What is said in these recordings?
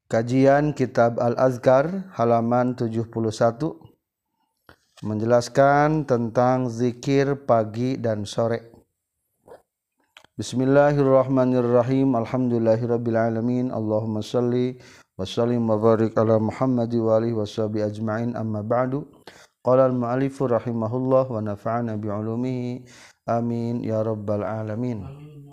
Kajian Kitab Al-Azkar halaman 71 menjelaskan tentang zikir pagi dan sore. Bismillahirrahmanirrahim. Alhamdulillahirabbil alamin. Allahumma shalli wa sallim wa barik ala Muhammad wa alihi washabihi ajmain. Amma ba'du. Qala al-mu'allif rahimahullah wa nafa'ana bi 'ulumihi. Amin ya rabbal alamin.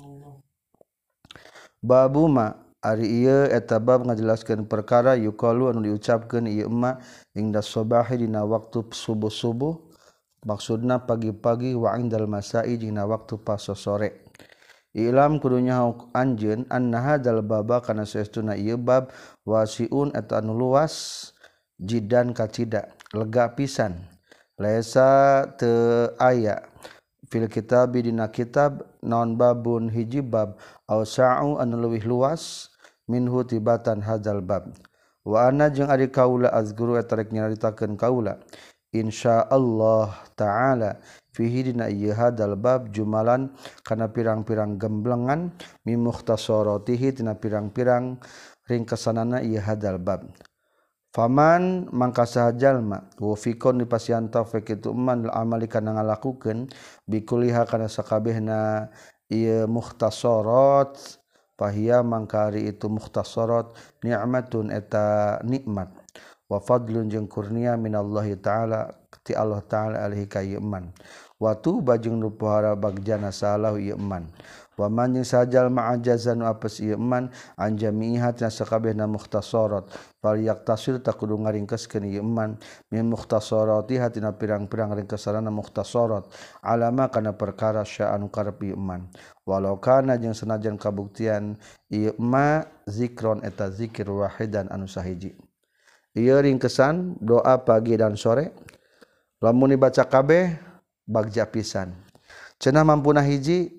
Babu ma ari ieu eta bab ngajelaskeun perkara yuqalu anu diucapkeun ieu emma ingda subahi dina waktu subuh-subuh maksudna pagi-pagi wa indal masai dina waktu pas sore. Ilam kudunya anjeun anna hadzal baba kana saestuna ieu bab wasiun eta anu luas jidan kacida lega pisan laisa teu aya fil kitab dina kitab naon babun hiji bab ausa'u anu leuwih luas minhu tibatan hadzal bab wa ana jeung ari kaula azguru eta rek nyaritakeun kaula insyaallah taala fihi dina ieu hadzal bab jumalan kana pirang-pirang gemblengan mi mukhtasaratihi tina pirang-pirang ringkesanana ieu hadzal bab. Faman mangka saha jalma wafiqon dipasian taufik itu man amali kana ngalakukeun bikuliha kana sakabehna ieu mukhtasarat fahiya mangka ari itu mukhtasarat ni'matun eta nikmat wa fadlun jeung kurnia minallahi taala ti Allah taala alaihi ka ieu man wa tuba jeung nu pohara bagjana salahu ieu man wa man jeung sajal ma'ajazan apes ieu man anjamihat na sakabehna mukhtasarat fal yaktasir takudu ngaringkeskeun ieu man min mukhtasarati hatina pirang-pirang ringkesanana mukhtasarat alama kana perkara sya'anu karep ieu man walau kana jeung sanajan kabuktian ieu ma zikron eta zikir wahidan anu sahiji. Ieu ringkesan doa pagi dan sore lamun dibaca kabeh bagja pisan cenah mampuna hiji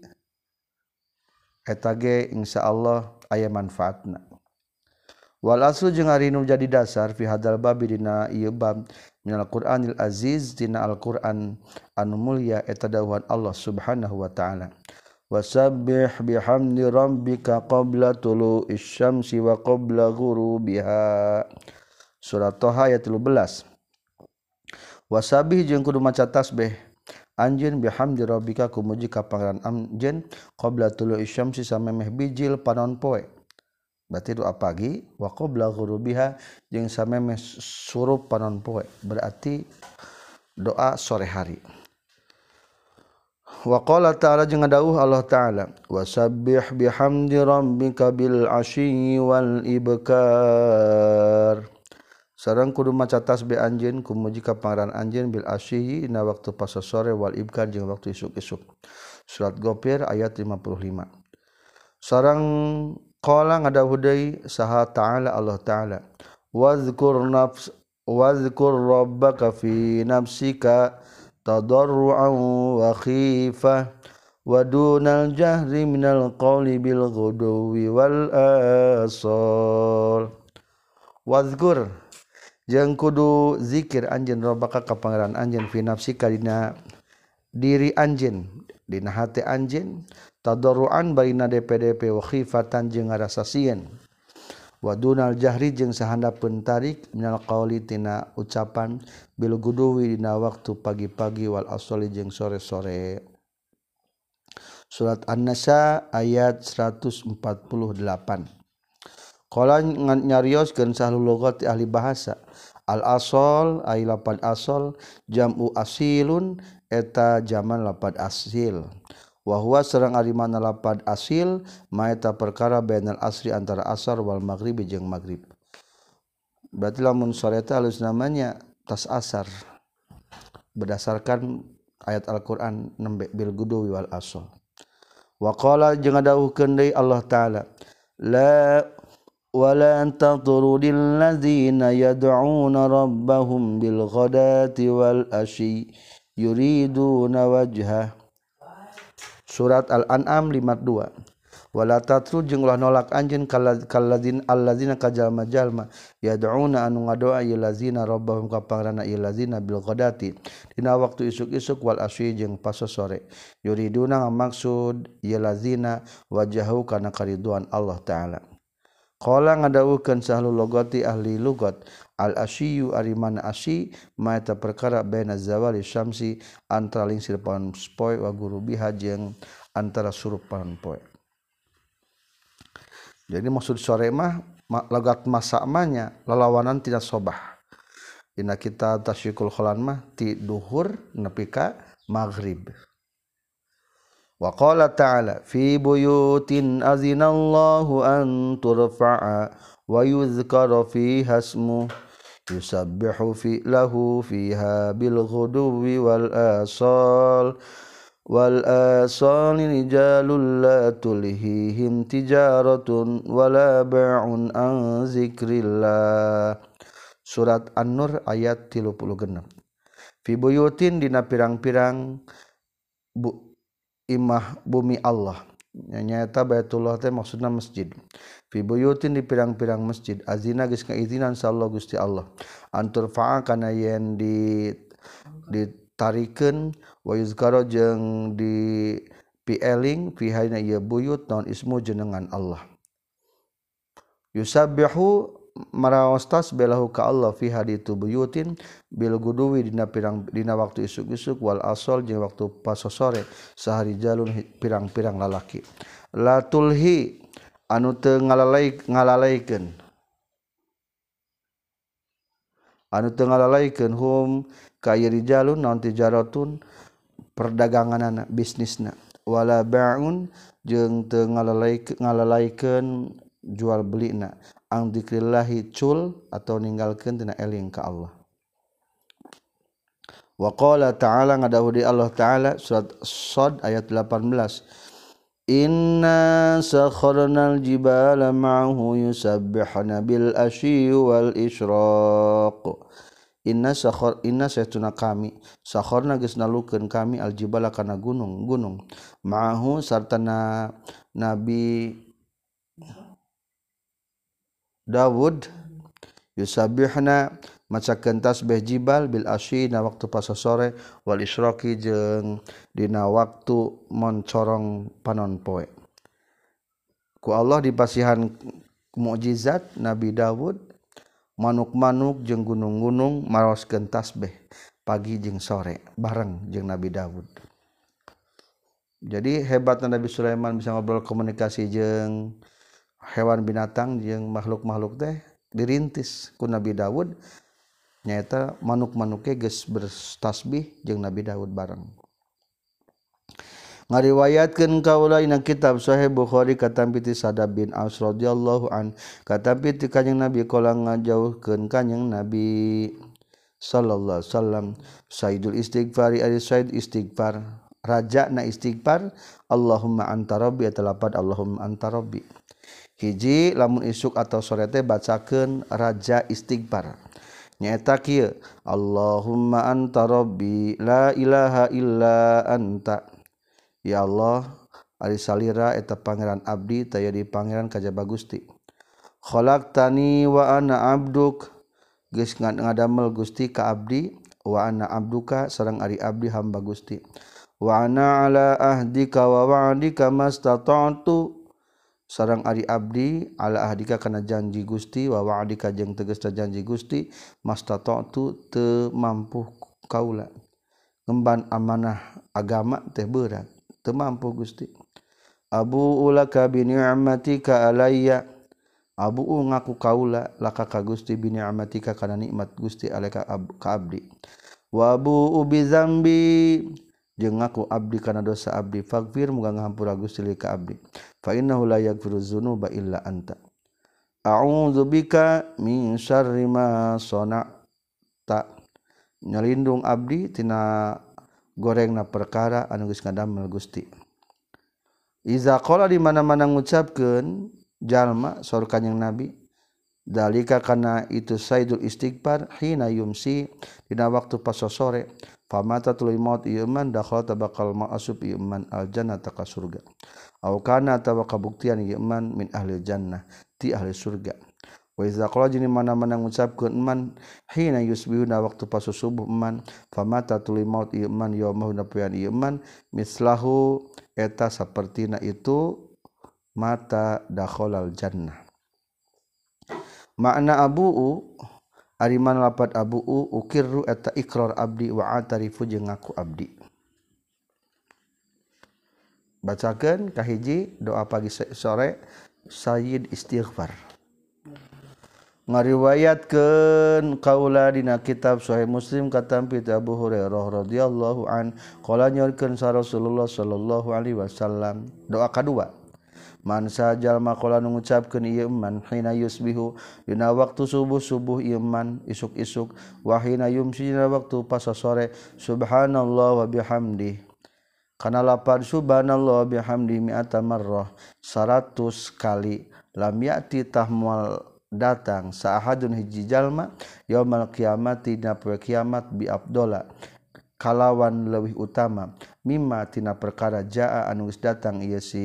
eta ge insyaallah aya manfaatna. Wal aslu jeung ari nu jadi dasar fi hadzal bab dina ieu bab minal Qur'anil aziz dina Al-Qur'an anu mulia eta dawuhan Allah Subhanahu wa taala. Wasabbih bihamdi rabbika qabla tulu'isy syamsi wa qabla ghurubiha. Surat Toha ayat 13. Wasabbih jeung kudu maca tasbih anjeun bihamdi rabbika kumuji ka pangaran anjeun qabla tulu'isy syamsi samemeh bijil panon poe berarti doa pagi wa qabla ghurubiha jeung samemeh surup panon poe berarti doa sore hari. Wa qala ta'ala jeung dawuh Allah taala wasabbih bihamdi rabbika bil ashyi wal ibkar sareng kudu maca tasbih anjeun kumuji ka pangaran anjeun bil ashyi dina waktu pas sore wal ibkar jeung waktu isuk-isuk. Surat Ghafir ayat 55. Sareng qala ngadawuh deui saha ta'ala Allah taala wazkur rabbaka fi nafsika tadarruan wa khifah wa dunal jahri minal qawli bil ghuduwi wal asal. Wazkur jeung kudu zikir anjeun rabbaka ka pangeran anjeun fi nafsika dina diri anjeun dina hate anjeun tadarruan baina DPDP wa khifatan jeung ngarasa sieun wa dunal jahri jeung sahandapeun tarik minal qauli tina ucapan bil guduwi dina waktu pagi-pagi wal asali jeung sore-sore. Surat An-Nisa ayat 148. Qala nyarioskeun sahlul lughat ahli bahasa al asal ay lapad asal jam'u asilun eta jaman lapad asil wa huwa sareng ari mana lapad asil ma eta perkara bainal asri antara asar wal maghribi jeung maghrib. Berarti lamun sore eta halus namanya tas asar berdasarkan ayat Al-Qur'an nembe bil guduwi wal asal. Wa qala jeung dawuhkeun deui Allah taala la wala tatrudil ladzina yad'una rabbahum bil ghadati wal asyi yuriduna wajhah. Surat Al-An'am 52. Wala tatrud jeung ulah nolak anjeun kalladzina alladzina kajalma-jalma yad'una anu ngadoa ieu lazina rabbahum ka pangaranna ieu lazina bil ghadati dina waktu isuk-isuk wal asyi jeung pas sore yuriduna ngamaksud ieu lazina wajahu kana kariduan Allah taala. Qala ngadawukeun sahlul lugati ahli lugat al asyiyu ari mana asyi ma eta perkara baina zawali syamsi antara lingsir panon poe wa gurubiha jeung antara surup panon poe. Jadi maksud sore mah logat masa manya lalawanan tina sobah. Dina kitab Tasyiqul Kholan mah ti duhur nepi ka maghrib. Wa qala ta'ala fi buyutin azinallahu an turfa'a wa yuzkara fiha ismuhu yusabbihu lahu fiha bil ghuduwi wal asal rijalul la tulhihim tijaratun wala bai'un an zikrillah. Surat An-Nur ayat 36. Fi buyutin dina pirang-pirang imah bumi Allah nyaeta Baitullah teh maksudna masjid. Fi buyutin di pirang-pirang masjid azina geus ngaizinan sallallahu Gusti Allah antur fa'a kana yen ditarikeun wa yuzkara jeung di pieling fi hayna ieu buyut naon ismu jenengan Allah. Yusabbihu maraos tasbihu ka Allah fi haditu buyutin bil guduwi dina waktu isuk-isuk wal asal jeung waktu pas sore sahari jalun pirang-pirang lalaki la tulhi anu teu ngalalaikeun hum ka rijalun naon tijaratun perdaganganna bisnisna wala ba'un jeung teu ngalalaikeun jual belina ang dzikrillahi cul atau ninggalkeun tina eling ka Allah. Wa qala ta'ala ngadahu di Allah ta'ala surat Shad ayat 18 inna sakharnal jibala ma'ahu yusabbihuna bil asyi wal isyraq inna saytuna kami sakharna geus nalukeun kami al jibala kana gunung ma'ahu sartana Nabi Dawud yusabbihna macakeun tasbih jibal bil asyi na waktu pas sore wal isyraqi jeung dina waktu moncorong panon poe. Ku Allah dipasihan mukjizat Nabi Dawud manuk-manuk jeung gunung-gunung maroskeun tasbih pagi jeung sore bareng jeung Nabi Dawud. Jadi hebatna Nabi Sulaiman bisa ngobrol komunikasi jeung hewan binatang jeung makhluk-makhluk teh dirintis ku Nabi Dawud nyaeta manuk-manuke geus bertasbih jeung Nabi Dawud bareng. Ngariwayatkeun kaula dina kitab Sahih Bukhari katampi ti Sadab bin Aus radhiyallahu an katampi ti Kanjeng Nabi kala ngajauhkeun Kanjeng Nabi sallallahu alaihi wasallam sayyidul istighfari ari sayyid istighfar raja na istighfar Allahumma anta rabbi atalapad Allahumma anta rabbi. Hiji lamun isuk atau sore teh bacakeun raja istighfar nyaeta kieu Allahumma anta rabbi la ilaha illa anta ya Allah ari salira eta pangeran abdi taya di pangeran kajaba Gusti khalaqtani wa ana abduk geus ngadamel Gusti ka abdi wa ana abduka sareng ari abdi hamba Gusti wa ana ala ahdika wa wa'dika mastata'tu sareng ari abdi ala ahdika kana janji Gusti wa wa'dika jeung tegasna janji Gusti mastata'tu teu mampu kaula ngemban amanah agama teh berat teu mampu Gusti abu ulaka bi ni'matika alayya abu ngaku kaula laka ka Gusti bi ni'matika kana nikmat Gusti alaka ka abdi wa abu bi zambi jeung ngaku abdi kana dosa abdi faghfir muga ngahampura Gusti li ka abdi fa innahu la yaghfiru dzunuba illa anta a'udzu bika min syarri ma sana'ta nyalindung abdi tina gorengna perkara anu geus ngadamel Gusti iza qala di mana-mana ngucapkeun jalma saur Kanjeng Nabi dalika kana itu sayyidul istighfar hina yumsi dina waktu pas sore famata tuluy maut ieu man dakhala tabaqal ma'asub ieu man aljannata ka surga au kana tawa kabuktian ieu man min ahli jannah ti ahli surga wa iza qala jeung mana-mana ngucapkeun man hina yusbihuna waktu pas subuh man famata tuluy maut ieu man yaumah napoean ieu man mislahu eta sapertina itu mata dakhalal jannah makna abuu ari mana lapat abuu ukirru eta iqrar abdi wa atarifu jeung ngaku abdi. Bacakeun kahiji doa pagi sore sayyid istighfar. Ngariwayatkeun kaula dina kitab Sahih Muslim katampi ti Abu Hurairah radhiyallahu an qala nyorkeun sa Rasulullah sallallahu alaihi wasallam doa kadua man sajal maqala nu ngucapkeun ieu man hina yusbihu dina waktu subuh ieu man isuk-isuk wa hina yumsi dina waktu pas sore subhanallah wa bihamdi kana lapad subhanallah wa bihamdi mi'ata marrah 100 kali lam ya'ti tahmal datang saahadun hiji jalma yaumul qiyamati dina poe kiamat bi afdola kalawan leuwih utama mimma tina perkara jaa anu geus datang ieu si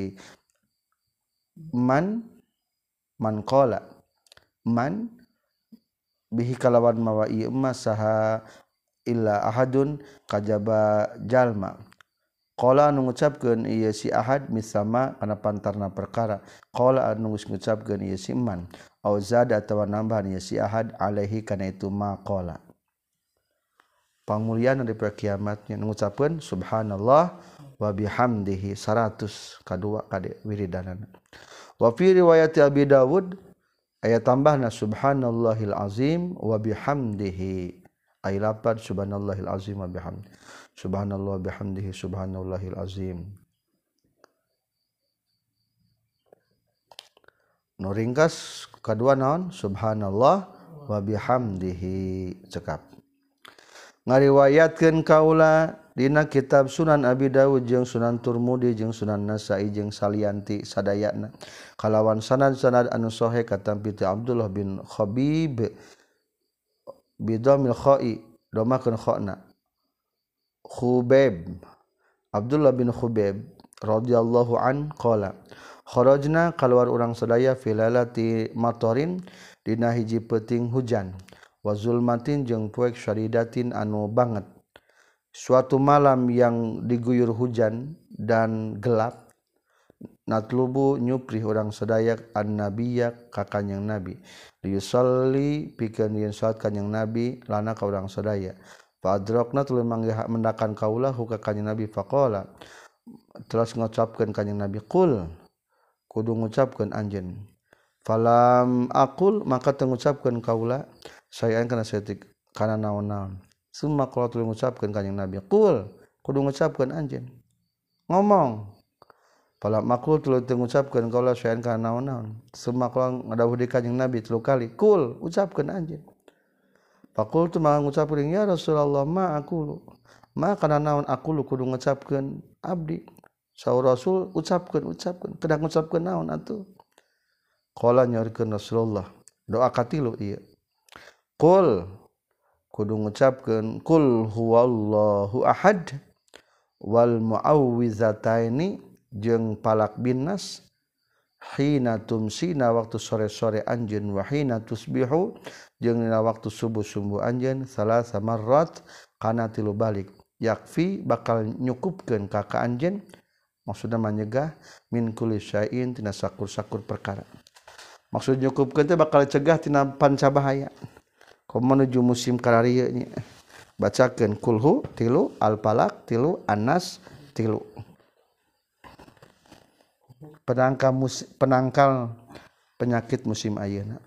man qala man bihi kalawan mawa ieu mah saha illa ahadun kajaba jalma qala anu ngucapkeun ieu si ahad misama kana pantarna perkara qala anu geus ngucapkeun ieu si man au zada atawa nambahan ieu si ahad alaihi kana itu ma qala pangmulyaan di kiamatnya ngucapkeun subhanallah wa bihamdihi 100 kadua kade wiridanana wa fi riwayat Abi Dawud aya tambahna subhanallahil azim wa bihamdihi ay lapad subhanallahil azim wa bihamdihi subhanallah bihamdihi subhanallahil azim. Nu ringkas kadua naon subhanallah wa bihamdihi cekap. Ngariwayatkeun kaula dina kitab Sunan Abi Dawud jeung Sunan Turmudi jeung Sunan Nasa'i jeung salianti sadayana kalawan sanad-sanad anu sahih katampi ti Abdullah bin Khabib bidhamil kha'i domakeun khana Khubaib Abdullah bin Khubaib radhiyallahu an qala kharajna kaluar urang sadaya filalati matorin dina hiji peuting hujan wa zulmatin jeung poek syaridatin anu banget suatu malam yang diguyur hujan dan gelap natlubu nyupri urang sadaya an-nabiyya ka kanjing nabi yusalli pikeun yen salat kanjing nabi lana ka urang sadaya fadrakna tuluy manggih mendakan kaula ka kanjing nabi faqala terus ngucapkeun kanjing nabi qul kudu ngucapkeun anjeun falam aqul maka teu ngucapkeun kaula sayan kana saeutik kana naon-naon summa qala tuluy ngucapkeun kanjing nabi qul kudu ngucapkeun anjeun ngomong falam aqul tuluy teu ngucapkeun kaula sayan kana naon-naon summa qala ngadawuh di kanjing nabi 3 kali qul ucapkeun anjeun faqultu maka ngucapkeun ya Rasulullah ma aqulu ma kana naon aqulu kudu ngucapkeun abdi saur Rasul ucapkeun kedah ngucapkeun naon atuh qala nyorkeun Rasulullah doa katilu ieu qul kudu ngucapkeun qul huwallahu ahad wal muawwizataini jeung palak binnas hina tumsina waktu sore-sore anjeun wa hina tusbihu jeung dina waktu subuh-subuh anjeun salasa marrat kana 3 balik yakfi bakal nyukupkeun ka anjeun maksudna manyegah min kulli syai'in tina sakur-sakur perkara maksud nyukupkeun teh bakal cegah tina pancabahaya komo menuju musim kararieu nya bacakeun kulhu 3 al-falaq 3 an-nas 3 penangkal penyakit musim ayeuna.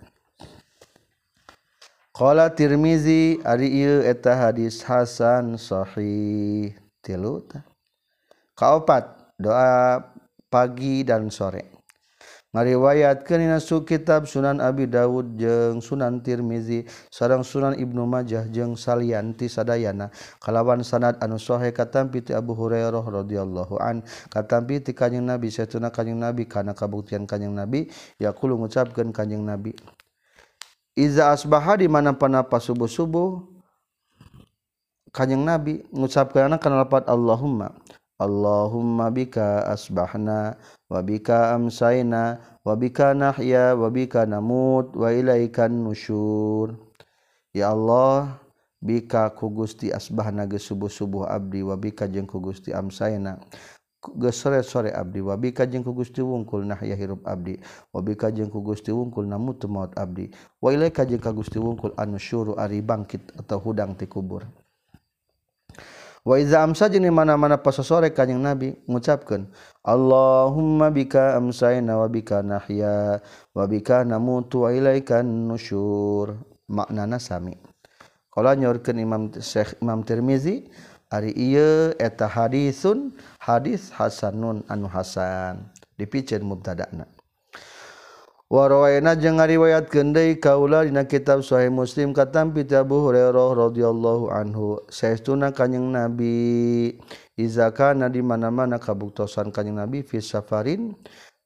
Qala Tirmizi ari ieu eta hadis hasan sahih 3 kaopat doa pagi dan sore ngariwayatkeun dina kitab Sunan Abi Dawud jeung Sunan Tirmizi sareng Sunan Ibnu Majah jeung salianti sadayana kalawan sanad anu sahih katampi ti Abu Hurairah radhiyallahu an katampi ti kanjing Nabi satuna kanjing Nabi kana kabuktian kanjing Nabi yaqulu ngucapkeun kanjing Nabi iza asbaha di mana-mana pas subuh-subuh kanjing Nabi ngucapkeun kana lafaz Allahumma bika asbahna wa bika amsayna wa bika nahya wa bika namut wa ilaikan nusyur ya Allah bika ku Gusti asbahna ge subuh-subuh abdi wa bika jeung ku Gusti amsayna geus sore-sore abdi wabika jeung ku Gusti wungkul nahya hirup abdi wabika jeung ku Gusti wungkul namutu maut abdi wa ilaika jeung ka Gusti wungkul anusyuru ari bangkit atau hudang ti kubur. Wa iza amsa jeung mana-mana pas sore kanjing Nabi ngucapkeun Allahumma bika amsayna wa bika nahya wa bika namutu wa ilaikan nusyur. Maknana sami. Qala nyorkeun Imam Tirmizi ari ieu eta hadisun hadis hasanun anu hasan dipikeun mubtada'na. Wa rawayna jeung ngariwayatkeun deui kaula dina kitab Sahih Muslim katampi ti Abu Hurairah radhiyallahu anhu saestuna kanjing Nabi iza kana di mana-mana kabuktosan kanjing Nabi fi safarin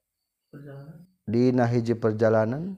dina hiji perjalanan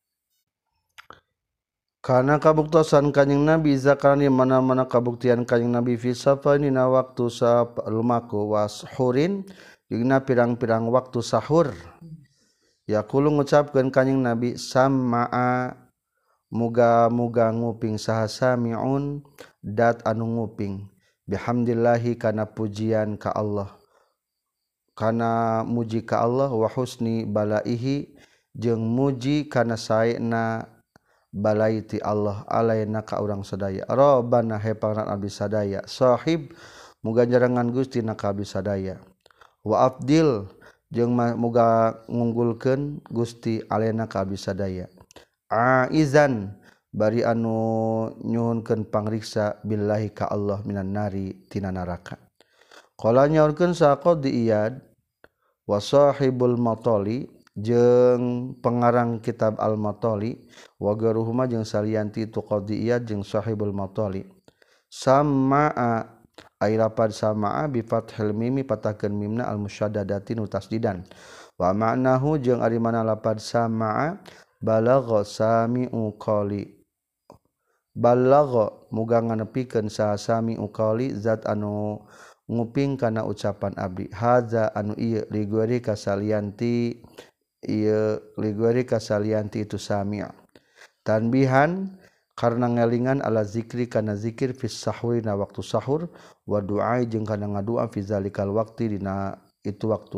kana kabuktosan kanjing Nabi iza kana di mana-mana kabuktian kanjing Nabi fi safarin dina waktu lumaku washurin dina pirang-pirang waktu sahur. Yaqulu ngucapkeun kanjing Nabi sam'a muga-muga nguping saha samiun dat anu nguping bihamdillahi kana pujian ka Allah kana muji ka Allah wa husni balaihi jeung muji kana saena balai ti Allah alaina ka urang sadaya rabbana he pangaran abdi sadaya sahib muga jarangan Gusti na ka abdi sadaya wa afdil jeung muga ngunggulkeun Gusti alena ka abdi sadaya aizan bari anu nyuhunkeun pangriksa billahi ka Allah minan nari tina neraka. Qala nyaurkeun saqad iyad wa sahibul matali jeung pengarang kitab al-matali wa garuhuma jeung salianti tu qadi iyad jeung sahibul matali samaa ai lapad samaa bi fathil mimi patahkeun mimna al musyaddadati nu tasdidan wa ma'nahu jeung ari mana lapad samaa balagha sami'u qali balagha muga nganepikeun saha sami'u qali zat anu nguping kana ucapan abdi haza anu ieu ligori kasalianti ieu ligori kasalianti itu sami' tanbihan karena ngelingan ala zikri kana zikir fis sahwi na waktu sahur wa du'a jeung kana ngadua fi zalikal waqti dina itu waktu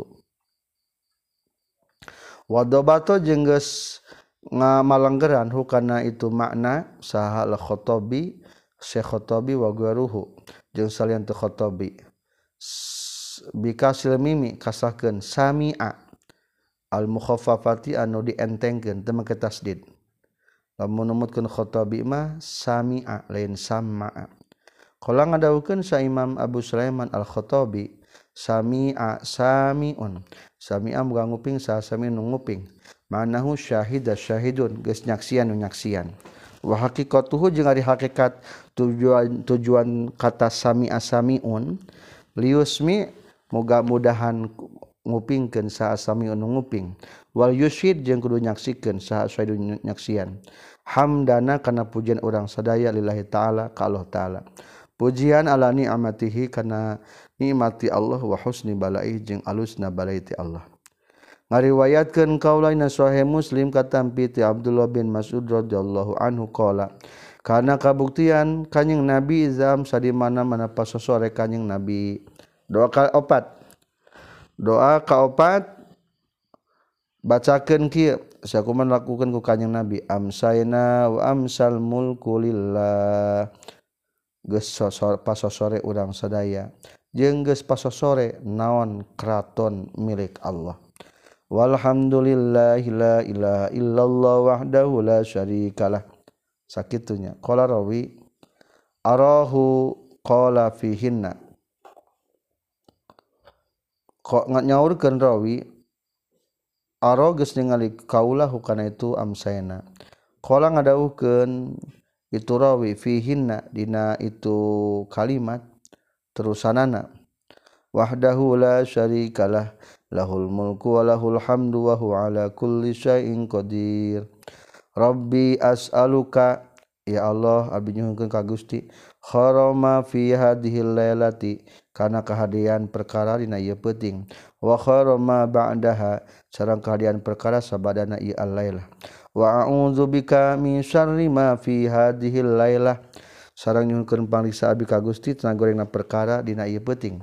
wa dabato jeung geus ngamalanggeran hukana itu makna saha al khotobi Syekh Khotobi wa garuhu jeung salian tu Khotobi bikasil mimi kasahkeun sami'a al mukhaffafati anu dientengkeun teu make tasdid lamun numutkeun Khotobi mah sami'a lain sama'a. Qala ngadawukeun sa Imam Abu Sulaiman al-Khotobi sami'a sami'un sami'a muga nguping sa sami nu nguping manahu syahida syahidun geus nyaksian nu nyaksian wa haqiqatuhu jeung ari hakikat tujuan kata sami'a sami'un liusmi mudah-mudahan ngupingkeun sa sami'un nu nguping wal yusyid jeung kudu nyaksikeun saha syahidun nyaksian hamdana kana pujian urang sadaya lillahi taala ka Allah taala pujian ala ni'matihi kana nikmati Allah wa husni balai jeung alusna balai ti Allah ngariwayatkeun kaulaina sahih Muslim katampi ti Abdullah bin Mas'ud radhiyallahu anhu qala kana kabuktian kanjing Nabi izam sadimana-mana pasosore kanjing Nabi doa kaopat bacakeun kieu sakumaha lakukeun ku kanjing Nabi amsayna wa amsal mulku lillah geus pasosore urang sadaya jeung geus pasosore naon kraton milik Allah walhamdulillahi la ilaha illallah wahdahu la syarikalah sakitunya qala rawi arahu qala fihinna nyaurkeun rawi aro geus ningali kaula hukana itu amsayna qala ngadawuhkeun itu rawi fihinna dina itu kalimat terusanana wahdahu la syarikalah lahul mulku wa lahul hamdu wa huwa ala kulli syai'in qadir rabbi as'aluka ya Allah abdi nyuhunkeun ka Gusti kharama fi hadhil lailati kana kahadian perkara dina ieu peuting wa kharama ba'daha sareng kahadian perkara sabadana ieu al-lailah wa a'udzubika min syarri ma fi hadhil lailah sareng nyuhunkeun pangriksa abdi ka Gusti tina gorengna perkara dina ieu peuting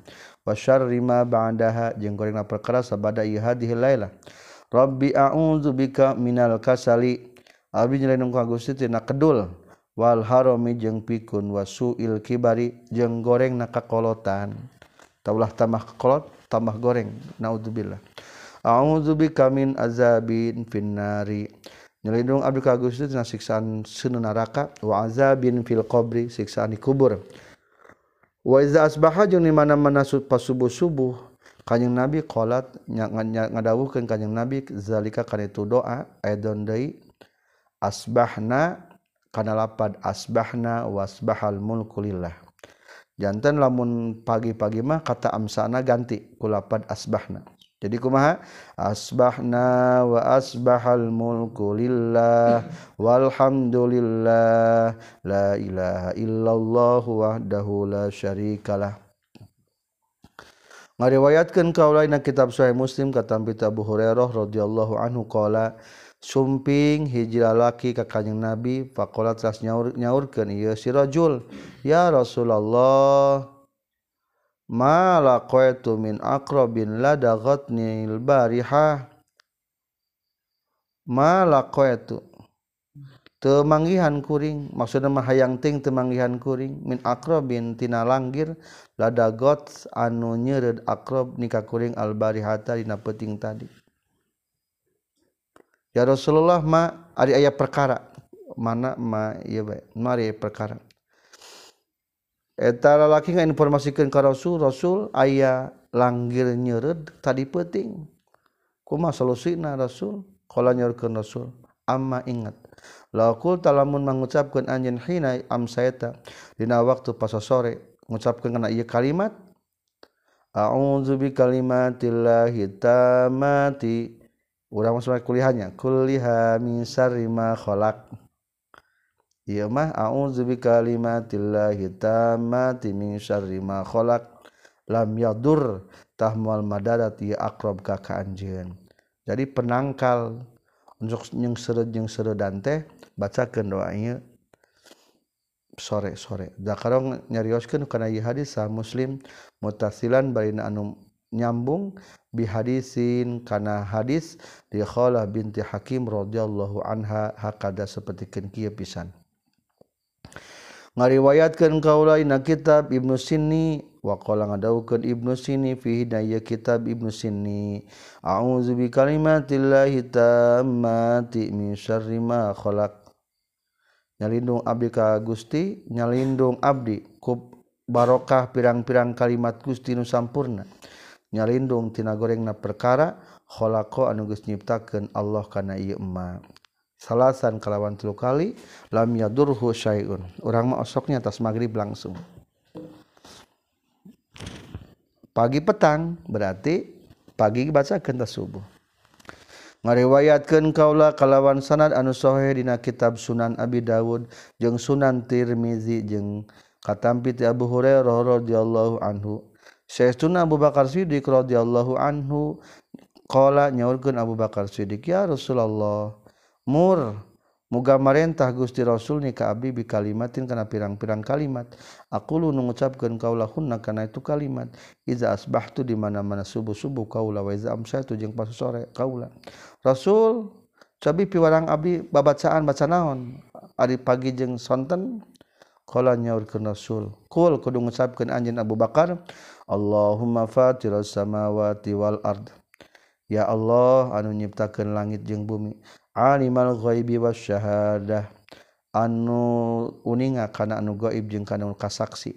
wa syarri ma ba'daha jeung gorengna perkara sabada ieu hadhihi lailah. Rabbi a'udzubika minal kasali. Abdi nyelindung ka Gusti tina kedul wal harami jeung pikun wasuil kibari jeung gorengna kakolotan. Taulah tambah kolot tambah goreng naudzubillah. A'udzubika min azabin finnari. Nyelindung abdi ka Gusti tina siksaan seuneu neraka wa azabin fil qabri siksaan di kubur. Wa iza asbaha jeung di mana-mana pas subuh-subuh Kanjeng Nabi qolat ngadawuhkeun Kanjeng Nabi zalika kana itu doa aidon deui asbahna kana lapad asbahna wasbahal mulku lillah. Janten lamun pagi-pagi mah kata amsana ganti ku lapad asbahna. Jadi kumaha asbahna wa asbahal mulku lillah walhamdulillah la ilaha illallah wahdahu la syarikalah. Ngariwayatkeun kaulaina kitab Sahih Muslim katampi Abu Hurairah radhiyallahu anhu qala sumping hiji lalaki ka Kanjeng Nabi faqala teras nyaurkeun ieu si rajul ya Rasulullah ma laqaitu min aqrabin ladaghatnil barihah ma laqaitu teu manggihan kuring maksudna mah hayang ting teu manggihan kuring min aqrabin tina langgir ladagot anu nyeureud aqrab nika kuring al barihata dina peuting tadi. Ya Rasulullah ma ari aya perkara mana ma ieu bae mari perkara eta lalaki ngainformasikeun ka Rasul aya langgir nyeureud tadi peuting kumaha solusina Rasul qala nyaurkeun Rasul amma ingat laqul talamun mengucapkeun anjeun hina amsayta dina waktu pas sore ngucapkeun kana ieu kalimat a'udzu bi kalimatillahi tammati urang mah kuliahnya kulliha min syarri ma khalaq. Ieu mah a'udzu bi kalimatillahi tammati min syarri ma khalaq lam yadur tahmal madarat ya aqrab ka anjeun. Jadi penangkal untuk jeung seureud teh bacakeun doa ieu sore-sore. Zakarong nyarioskeun kana ieu hadis sah Muslim muttasilan baina anu nyambung bi hadisin kana hadis di Khalah binti Hakim radhiyallahu anha hakada sapertikeun kieu pisan. Ngariwayatkeun kaulaina kitab Ibnu Sinni wa qala ngadawukeun Ibnu Sinni fi hidayah kitab Ibnu Sinni a'udzu bi kalimatillahi tammati min syarri ma khalaq. Nyalindung abdi ka Gusti nyalindung abdi ku barokah pirang-pirang kalimat Gusti nu sampurna nyalindung tina gorengna perkara khalaqa anu geus nyiptakeun Allah kana ieu emma salasan kalawan 3 kali lam yadurhu syai'un urang mah osoknya tas magrib langsung pagi petang berarti pagi bacakeun tas subuh. Ngariwayatkeun kaula kalawan sanad anu sahih dina kitab Sunan Abi Dawud jeung Sunan Tirmizi jeung katampi ti Abu Hurairah radhiyallahu anhu saestuna Abu Bakar Siddiq radhiyallahu anhu qala nyaurkeun Abu Bakar Siddiq ya Rasulullah mur muga marentah Gusti Rasul ni ka abdi bi kalimatin kana pirang-pirang kalimat aqulu nu ngucapkeun kaulahunna kana itu kalimat iza asbahtu di mana-mana subuh-subuh kaula wa iza amsaytu jeung pas sore kaula Rasul cabi piwarang abdi babacaan baca naon ari pagi jeung sonten qala nyaurkeun Rasul qul kudu ngucapkeun anjeun Abu Bakar Allahumma fatiras samawati wal ard ya Allah anu nyiptakeun langit jeung bumi alimal ghaibi wasyahadah anu uninga kana anu gaib jeung kana anu kasaksi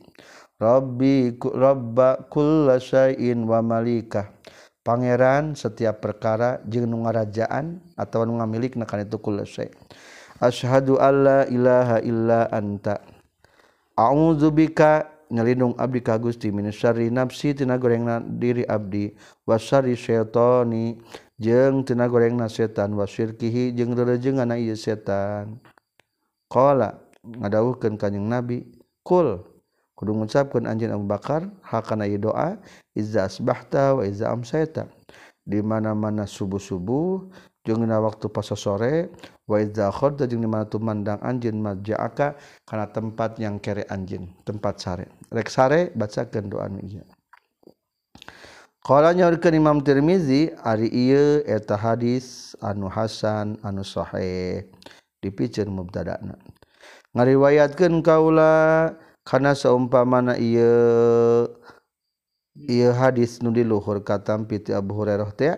rabba kullasyai'in wa malikah pangeran setiap perkara jeung nu ngarajaan atawa nu ngamilikna kana itu kullasyai asyhadu alla ilaha illa anta a'udzubika nyalindung abdi ka Gusti min syarri nafsi tina gorengna diri abdi wasyarri syaitani jeung tina gorengna setan wasyirkihi jeung rerejenganna ieu setan qala ngadawuhkeun kanjing Nabi qul kudu ngucapkeun anjeun Abu Bakar hakana ieu doa izza asbahta wa izza amsayta di mana-mana subuh-subuh jeung dina waktu pas sore wa izza khadda jeung di mana tumandang anjeun maja'aka kana tempat yang kere anjeun tempat sare rek sare bacakeun doa ieu qala nyaurkeun Imam Tirmizi ari ieu eta hadis anu hasan anu sahih dipikeun mubtada'na ngariwayatkeun kaula kana saumpamana ieu hadis nu di luhur katampi ti Abu Hurairah teh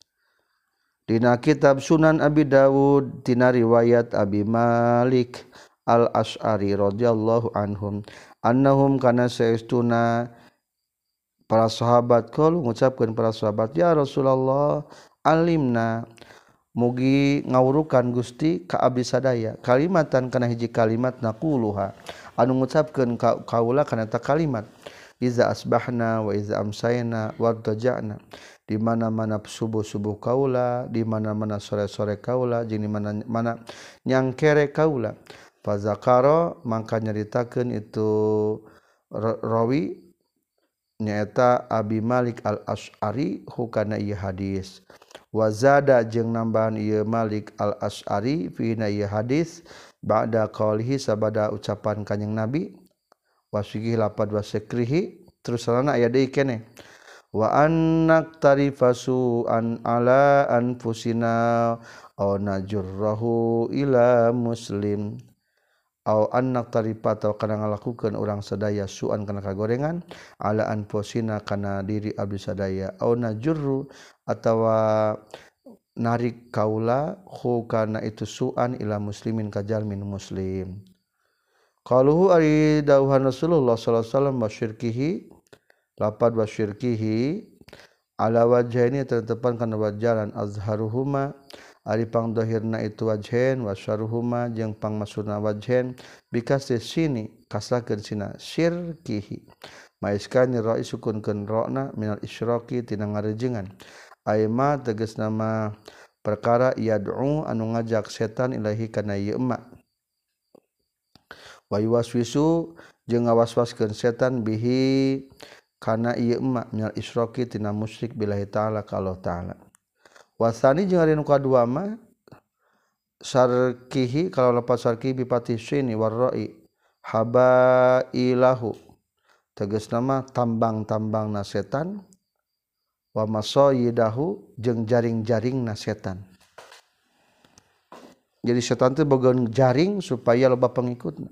dina kitab Sunan Abi Dawud tina riwayat Abi Malik Al-Asy'ari radhiyallahu anhum annahum kana saestuna para sahabat qalu ngucapkeun para sahabat ya Rasulullah alimna mugi ngawurukan Gusti ka abdi sadaya kalimatan kana hiji kalimat naquluha anu ngucapkeun kaula kana ta kalimat iza asbahna wa iza amsayna wa tajana di mana-mana subuh-subuh kaula di mana-mana sore-sore kaula jeung di mana-mana nyangkere kaula fa zakara mangka nyaritakeun itu rawi nyaeta Abi Malik Al-Asy'ari hukana ieu hadis wazada jeung nambahan ieu Malik Al-Asy'ari fi ieu hadis ba'da qaulihi sabada ucapan kanjing Nabi wasihi lapad wasikrihi terus salana aya deui keneh wa annak tarifasu an ala anfusina aw najurrahu ila muslim aw annak tarifata kana ngalakukeun urang sadaya suan kana kagorengan ala anfusina kana diri abdi sadaya aw najurru atawa narik kaula hu kana itu suan ila muslimin kajalmin muslim qaluhu ari dawuhan Rasulullah sallallahu alaihi wasallam wasyirkihi lapad wasyirkihi ala wajhaini tetepan kana wajalan azharuhuma ari pangdohirna itu wajhen wasyaruhuma jeung pangmaksudna wajhen bikasih sini kasakeun sina syirkihi maiskani ra'i sukunkeun ra'na minal isyraqi tina ngarejengan aima tegasna mah perkara yad'u anu ngajak setan ilahi kana ieu emma wa yuwaswisu jeung ngawaswaskeun setan bihi kana ieu emma minal isyraqi tina musyrik billahi taala ka Allah taala wasani jeung ari nu kadua mah syarkihi kalau lepas syarki bi patih sini warra'i habailahu tegasna mah tambang-tambangna setan wa masayidahu jeung jaring-jaringna setan jadi setan teh boga jaring supaya loba pengikutna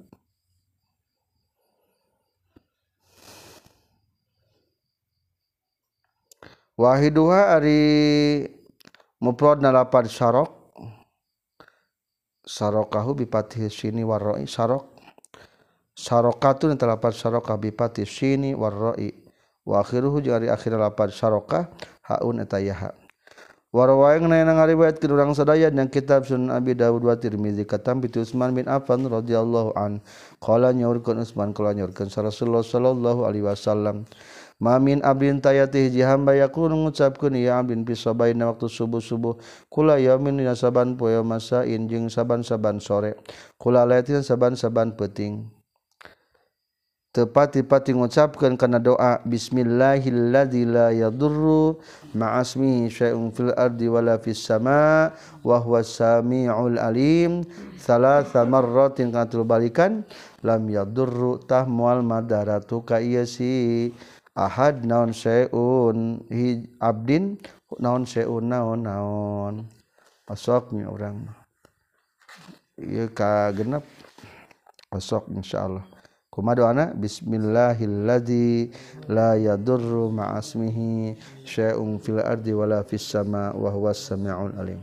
wahiduha ari mufradna lapad syarok sarokahu bi patih sini warra'i sarok sarokatun lapad sarokah bi patih sini warra'i wa akhiruhu jeung ari akhir lapad sarokah haun eta yaha warawayang na ngariwayatkeun urang sadaya dina kitab Sunan Abi Dawud wa Tirmizi katam bi Utsman bin Affan radhiyallahu an qala nyaurkeun Utsman qala nyaurkeun Rasulullah sallallahu alaihi wasallam mamin abdin tayati hiji hamba yaqulu ngucapkeun ya abdin fi sabaina waktu subuh-subuh kula yaumin dina saban poe masain jeung saban-saban sore kula laitin saban-saban peuting tepati-pati ngucapkeun kana doa bismillahilladzi la yadurru ma'asmihi syai'un fil ardi wala fis sama wa huwas samiul alim salasa marratin katul balikan lam yadurru tahmual madaratu ka ieu si ahad naon syai'un abdin naon syai'un naon pasoknya urang ieu ka genep pasok insyaallah kumaha doana bismillahilladzi la yadurru ma'asmihi syai'un fil ardi wala fis sama wa huwas samiul alim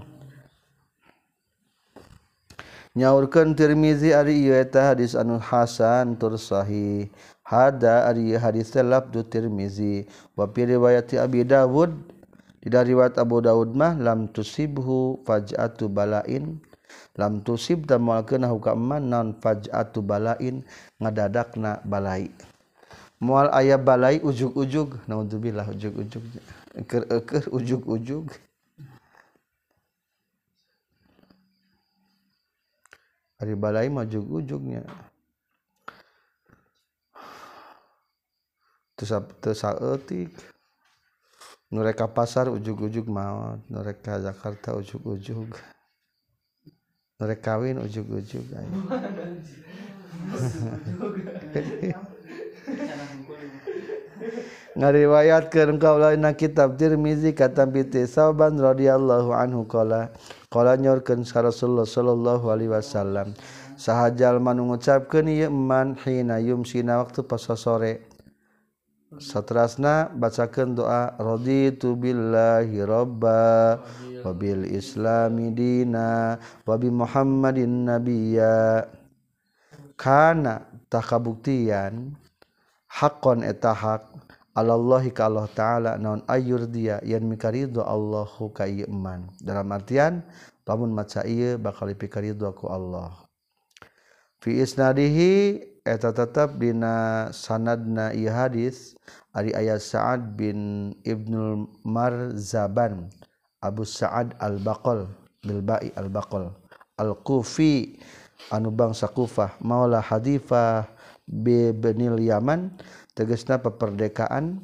nyaurkeun Tirmizi ari ieu eta hadis anu hasan tur sahih hada ari hadis lafdu Tirmizi wa fi riwayat Abi Dawud di riwayat Abu Dawud mah lam tusibhu faj'atu balain lam tusib da moalkeun huka man naon faj'atu balain ngadadakna balai moal aya balai ujug-ujug naudzubillah ujug-ujug keur ujug-ujug ari balai mah ujug-ujugnya teu saeutik nu rek ka pasar ujug-ujug maot nu rek ka Jakarta ujug-ujug nu rek kawin ujug-ujug ngariwayatkeun kaulana kitab Tirmizi katampi Sauban radhiyallahu anhu qala nyorkeun Rasulullah sallallahu alaihi wasallam sahajal man ngucapkeun ieu man hina yumsina waktu pas sore saterasna bacakeun doa raditu billahi robba wa bil islami dina wa bi muhammadin nabiyya kana takabuktian haqqan eta hak alallahi ka Allah taala naon ayur dia yen mikaridho Allahu ka ieu man dalam artian lamun maca ieu bakal dipikaridho ku Allah fi isnadihi eta tetep dina sanadna ieu hadis ari aya Sa'ad bin Ibnul Marzaban Abu Sa'ad al-Baqal bil ba'i al-Baqal al-Kufi anu bangsa Kufah maula hadifah benil Yaman tegasna peperdekaan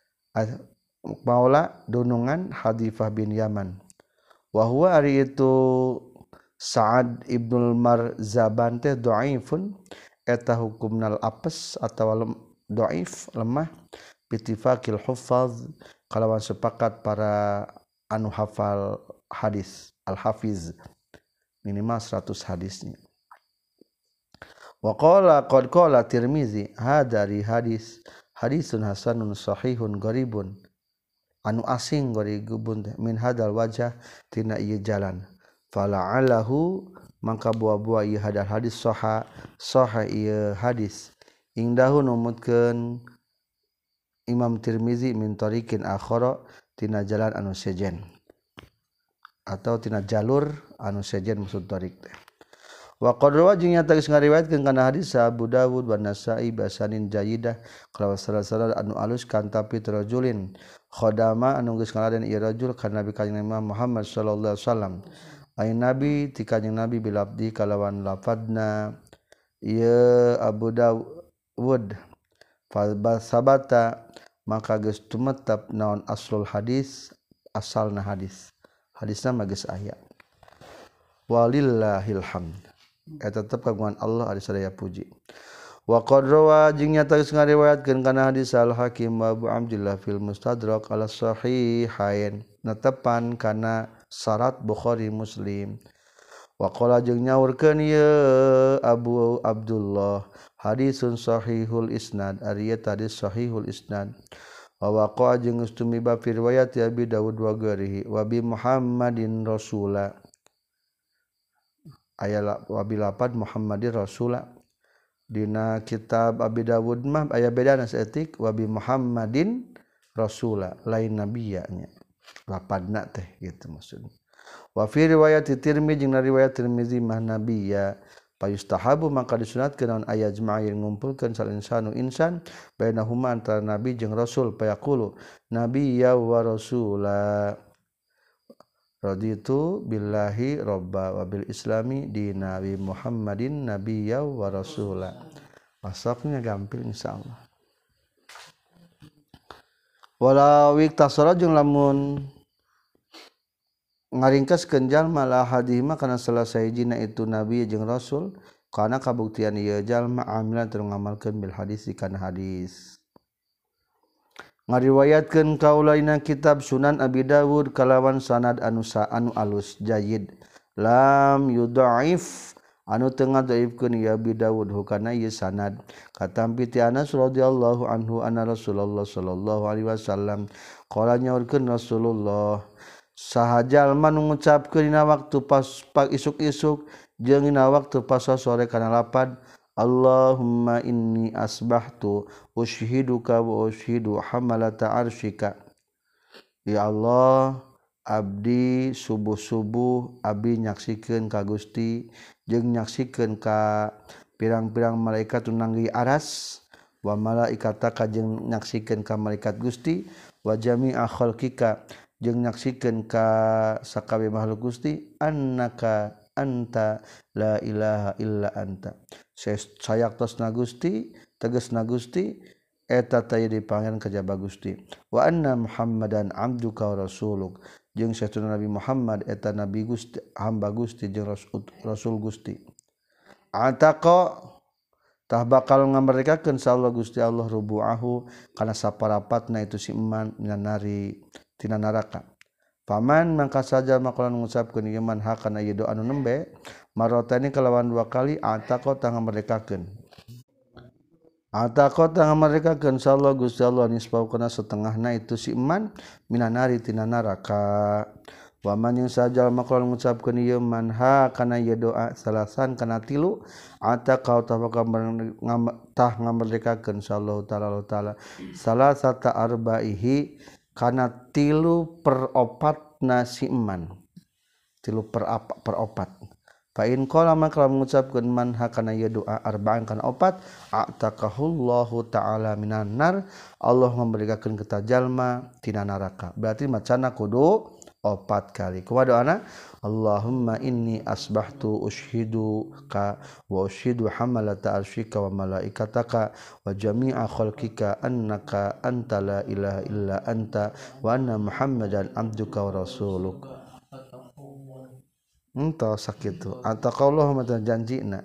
maula dunungan hadifah bin Yaman wa huwa ari itu Sa'ad ibnul Marzaban teh dhaifun eta hukumnal apes atawa dhaif lemah bittifaqil huffaz kalawan sepakat para anu hafal hadis al-hafiz minimal 100 hadisnya wa qala qad qala Tirmizi hadari hadisun hasanun sahihun gharibun anu asing gharibun min hadal wajah tina ieu jalan fala'alahu mangka buah-buah ieu hadis sahih ieu hadis ingdahu numutkeun Imam Tirmizi min tariqin akhara tina jalan anu sejen atau tina jalur anu sejen maksud tariq teh wa qad rawajing nyata geus ngariwayatkeun kana hadis Abu Dawud wa Nasa'i basanin jayyidah kalawan salah anu alus kan tapi rajulin khodama anu geus ngaladen ieu rajul kana Nabi kanjeng Muhammad sallallahu alaihi wasallam ai nabi ti kanjeng Nabi bilabdi kalawan lafadna ieu Abu Dawud fa sabata maka geus tumetep naon aslul hadis asalna hadisna mah geus aya walillahil hamd eta tetep kagungan Allah ari sadaya puji wa qad rawa jeung nyata geus ngariwayatkeun kana hadis al Hakim wa Abu Abdillah fil Mustadrak ala sahihain netepan kana syarat Bukhari Muslim wa qala jeung nyaurkeun ieu Abu Abdullah hadisun sahihul isnad ari eta hadis sahihul isnad wa waqa jeung ustumiba fi riwayat Abi Dawud wa ghairihi wa bi Muhammadin rasula aya wa bi lapad Muhammadin rasula dina kitab Abi Dawud mah aya bedana saeutik wa bi Muhammadin rasula lain nabiyanya lapadna teh gitu maksudna wa fi riwayat Tirmizi jeung riwayat Tirmizi mah nabiyya payustahabu maka disunatkeun naon aya jema'ir ngumpulkeun sal insanu insan bainahuma antara nabi jeung rasul payaqulu nabiyya wa rasula raditu billahi robba wa bil islami dina wa Muhammadin nabiyya wa rasula masaknya gampil insyaallah wala wiktasara jeung lamun ngaringkaskeun jalma la hadimah kana salah sahijina itu nabi jeung rasul kana kabuktian ieu jalma amilan teu ngamalkeun bil hadis kana hadis ngariwayatkeun kaulaina kitab Sunan Abi Dawud kalawan sanad anu alus jayyid lam yudhaif anu teu ngadhaifkeun ieu Abi Dawud hukana ieu sanad katampi ti Anas radhiyallahu anhu anna Rasulullah sallallahu alaihi wasallam qala nyaurkeun Rasulullah sahajal man ngucapkeun dina waktu pas isuk-isuk jeung dina waktu pas sore kana lapad Allahumma inni asbahtu ushiduka wa ushidu hamalata arsyika ya Allah abdi subuh-subuh abdi nyaksikeun ka Gusti jeung nyaksikeun ka pirang-pirang malaikat nanggi aras wa malaikataka jeung nyaksikeun ka malaikat Gusti wa jami'a khalqika jeung nyaksikeun ka sakabe makhluk Gusti annaka anta la ilaha illa anta sayaktosna Gusti tegasna Gusti eta taya dipanggieun kajaba Gusti wa anna Muhammadan abduka wa rasuluk jeung satuna Nabi Muhammad eta nabi Gusti hamba Gusti jeung rasul Gusti ataqa tah bakal ngamerdekakeun insyaallah Gusti Allah rubu'ahu kana saparapatna itu si iman minan nari tina neraka. Paman mangka saja makalan ngucapkeun ieu man hakana ieu doa anu nembe marotani kalawan 2 kali ataqo tang ngamerdekakeun. Ataqo tang ngamerdekakeun insyaallah Gusti Allah nisbaukana setengahna itu si iman minan nari tina neraka. Waman yang saja makalan ngucapkeun ieu man hakana ieu doa salasan kana 3 ataqo tah ngamerdekakeun insyaallah taala salasata arbaihi kana 3/4 nasi iman 3/4 fa in qala maka mengucapkeun man hakana ieu doa arba'an kana 4 ataqahullahu ta'ala minan nar Allah memberikan kita jalma tina neraka berarti macana kudu 4 kali kumaha doana Allahumma inni asbahtu ushiduka wa ushidu hamalata arsyika wa malaikataka wa jami'a khalqika annaka anta la ilaha illa anta wa anna muhammadan abduka wa rasuluk entah sakitu ataqallahu mata janjina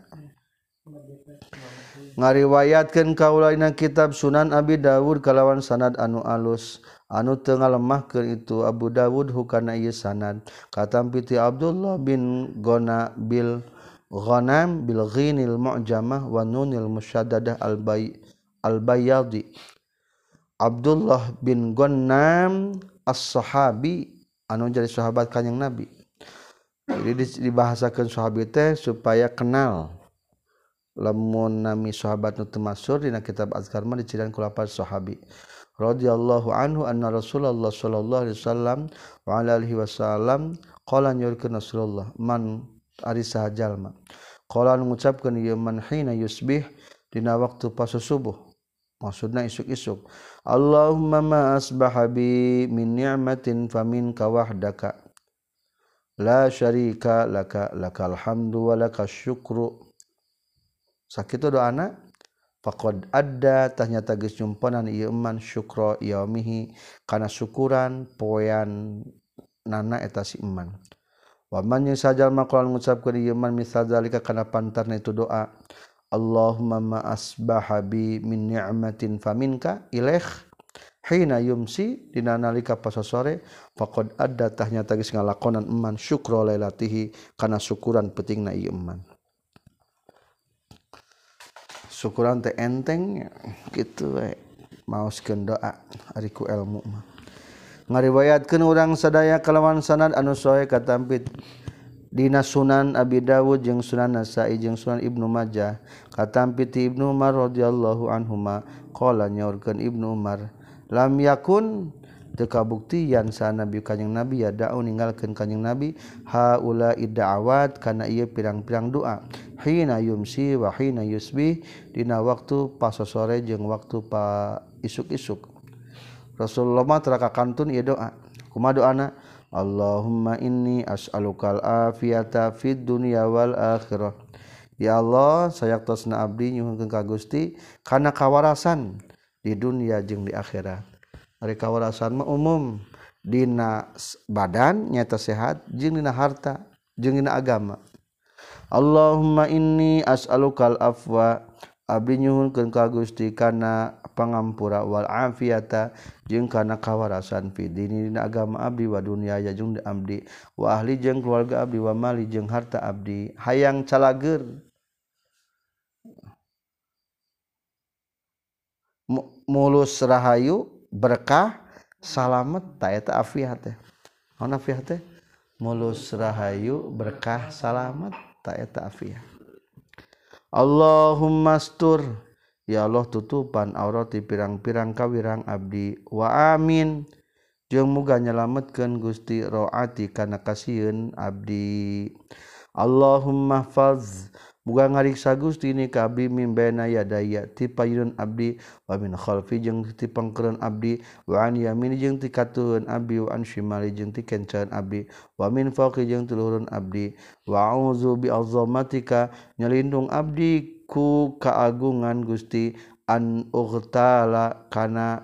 ngariwayatkeun kaulaina kitab Sunan Abi Dawud kalawan sanad anu alus anu teu ngalemahkeun itu Abu Dawud hukana ieu sanad katampi ti Abdullah bin Gona bil Ghanam bil ghinil mu'jamah wa nunil musyaddadah al bayadi Abdullah bin Ghanam as-sahabi anu jadi sahabat kanjing Nabi. Jadi dibahasakeun sahabi teh supaya kenal lamun nami sahabat nu teu masyhur dina kitab azkar mah dicirian ku lafaz sahabi radhiyallahu anhu anna Rasulullah sallallahu alaihi wasallam wa ala alihi wasallam qala nyurkeun Rasulullah man ari saha jalma qala ngucapkeun ieu man hina yusbih dina waktu pas subuh maksudna isuk-isuk Allahumma ma asbaha bi min ni'matin faminka wahdaka la syarika laka lakal hamdu wa lakas syukru sakitu doana faqad adda tanyata geus nyumponan ieu man syukra yaumihi kana syukuran poean nana eta si iman wa man yasajal maqal ngucapkeun ieu man misal zalika kana pantarna itu doa Allahumma ma asbaha bi min ni'matin faminka ilaih hina yumsi dina nalika pasasore faqad adda tanyata geus ngalakonan iman syukra lailatihi kana syukuran peutingna ieu iman syukuran teh enteng kitu we maoskeun doa ari ku ilmu mah ngariwayatkeun urang sadaya kalawan sanad anu sahih katampit dina Sunan Abi Dawud jeung Sunan Nasa'i jeung Sunan Ibnu Majah katampit ti Ibnu Umar radhiyallahu anhuma qala nyaurkeun Ibnu Umar lam yakun teu kabuktian sa nabi kanjing nabi ya da'u ninggalkeun kanjing nabi haula id'awat kana ieu pirang-pirang doa hina yumsi wa hina yusbih dina waktu pas sore jeung waktu pa isuk-isuk Rasulullah mah teu kakantun ieu doa kumaha doana Allahumma inni as'alukal afiyata fid dunya wal akhirah ya Allah sayaktosna abdi nyuhunkeun ka Gusti kana kawarasan di dunia jeung di akhirat ari kawarasan mah umum dina badan nyata sehat jeung dina harta jeung dina agama Allahumma inni as'alukal afwa abdi nyuhunkeun ka Gusti kana pangampura wal afiyata jeung kana kawarasan fi dini dina agama abdi wa dunya jeung abdi wa ahli jeung keluarga abdi wa mali jeung harta abdi hayang calageur mulus rahayu berkah salamet ta eta afiat teh naon afiat teh mulus rahayu berkah salamet ta eta afiat Allahumma astur ya Allah tutupan aurati pirang-pirang kawirang abdi wa amin jeung muga nyalametkeun Gusti roati kana kasieun abdi Allahumma faz muga ngariksa Gusti ni ka abdi mim baina yadaya ti payun abdi wa min khalfi jeung ti pangkeureun abdi wa an yamin jeung ti katuhun abdi wa an shimali jeung ti kenceun abdi wa min fawqi jeung ti luhureun abdi wa a'udzu bi azamatika nyalindung abdi ku kaagungan Gusti an ughtala kana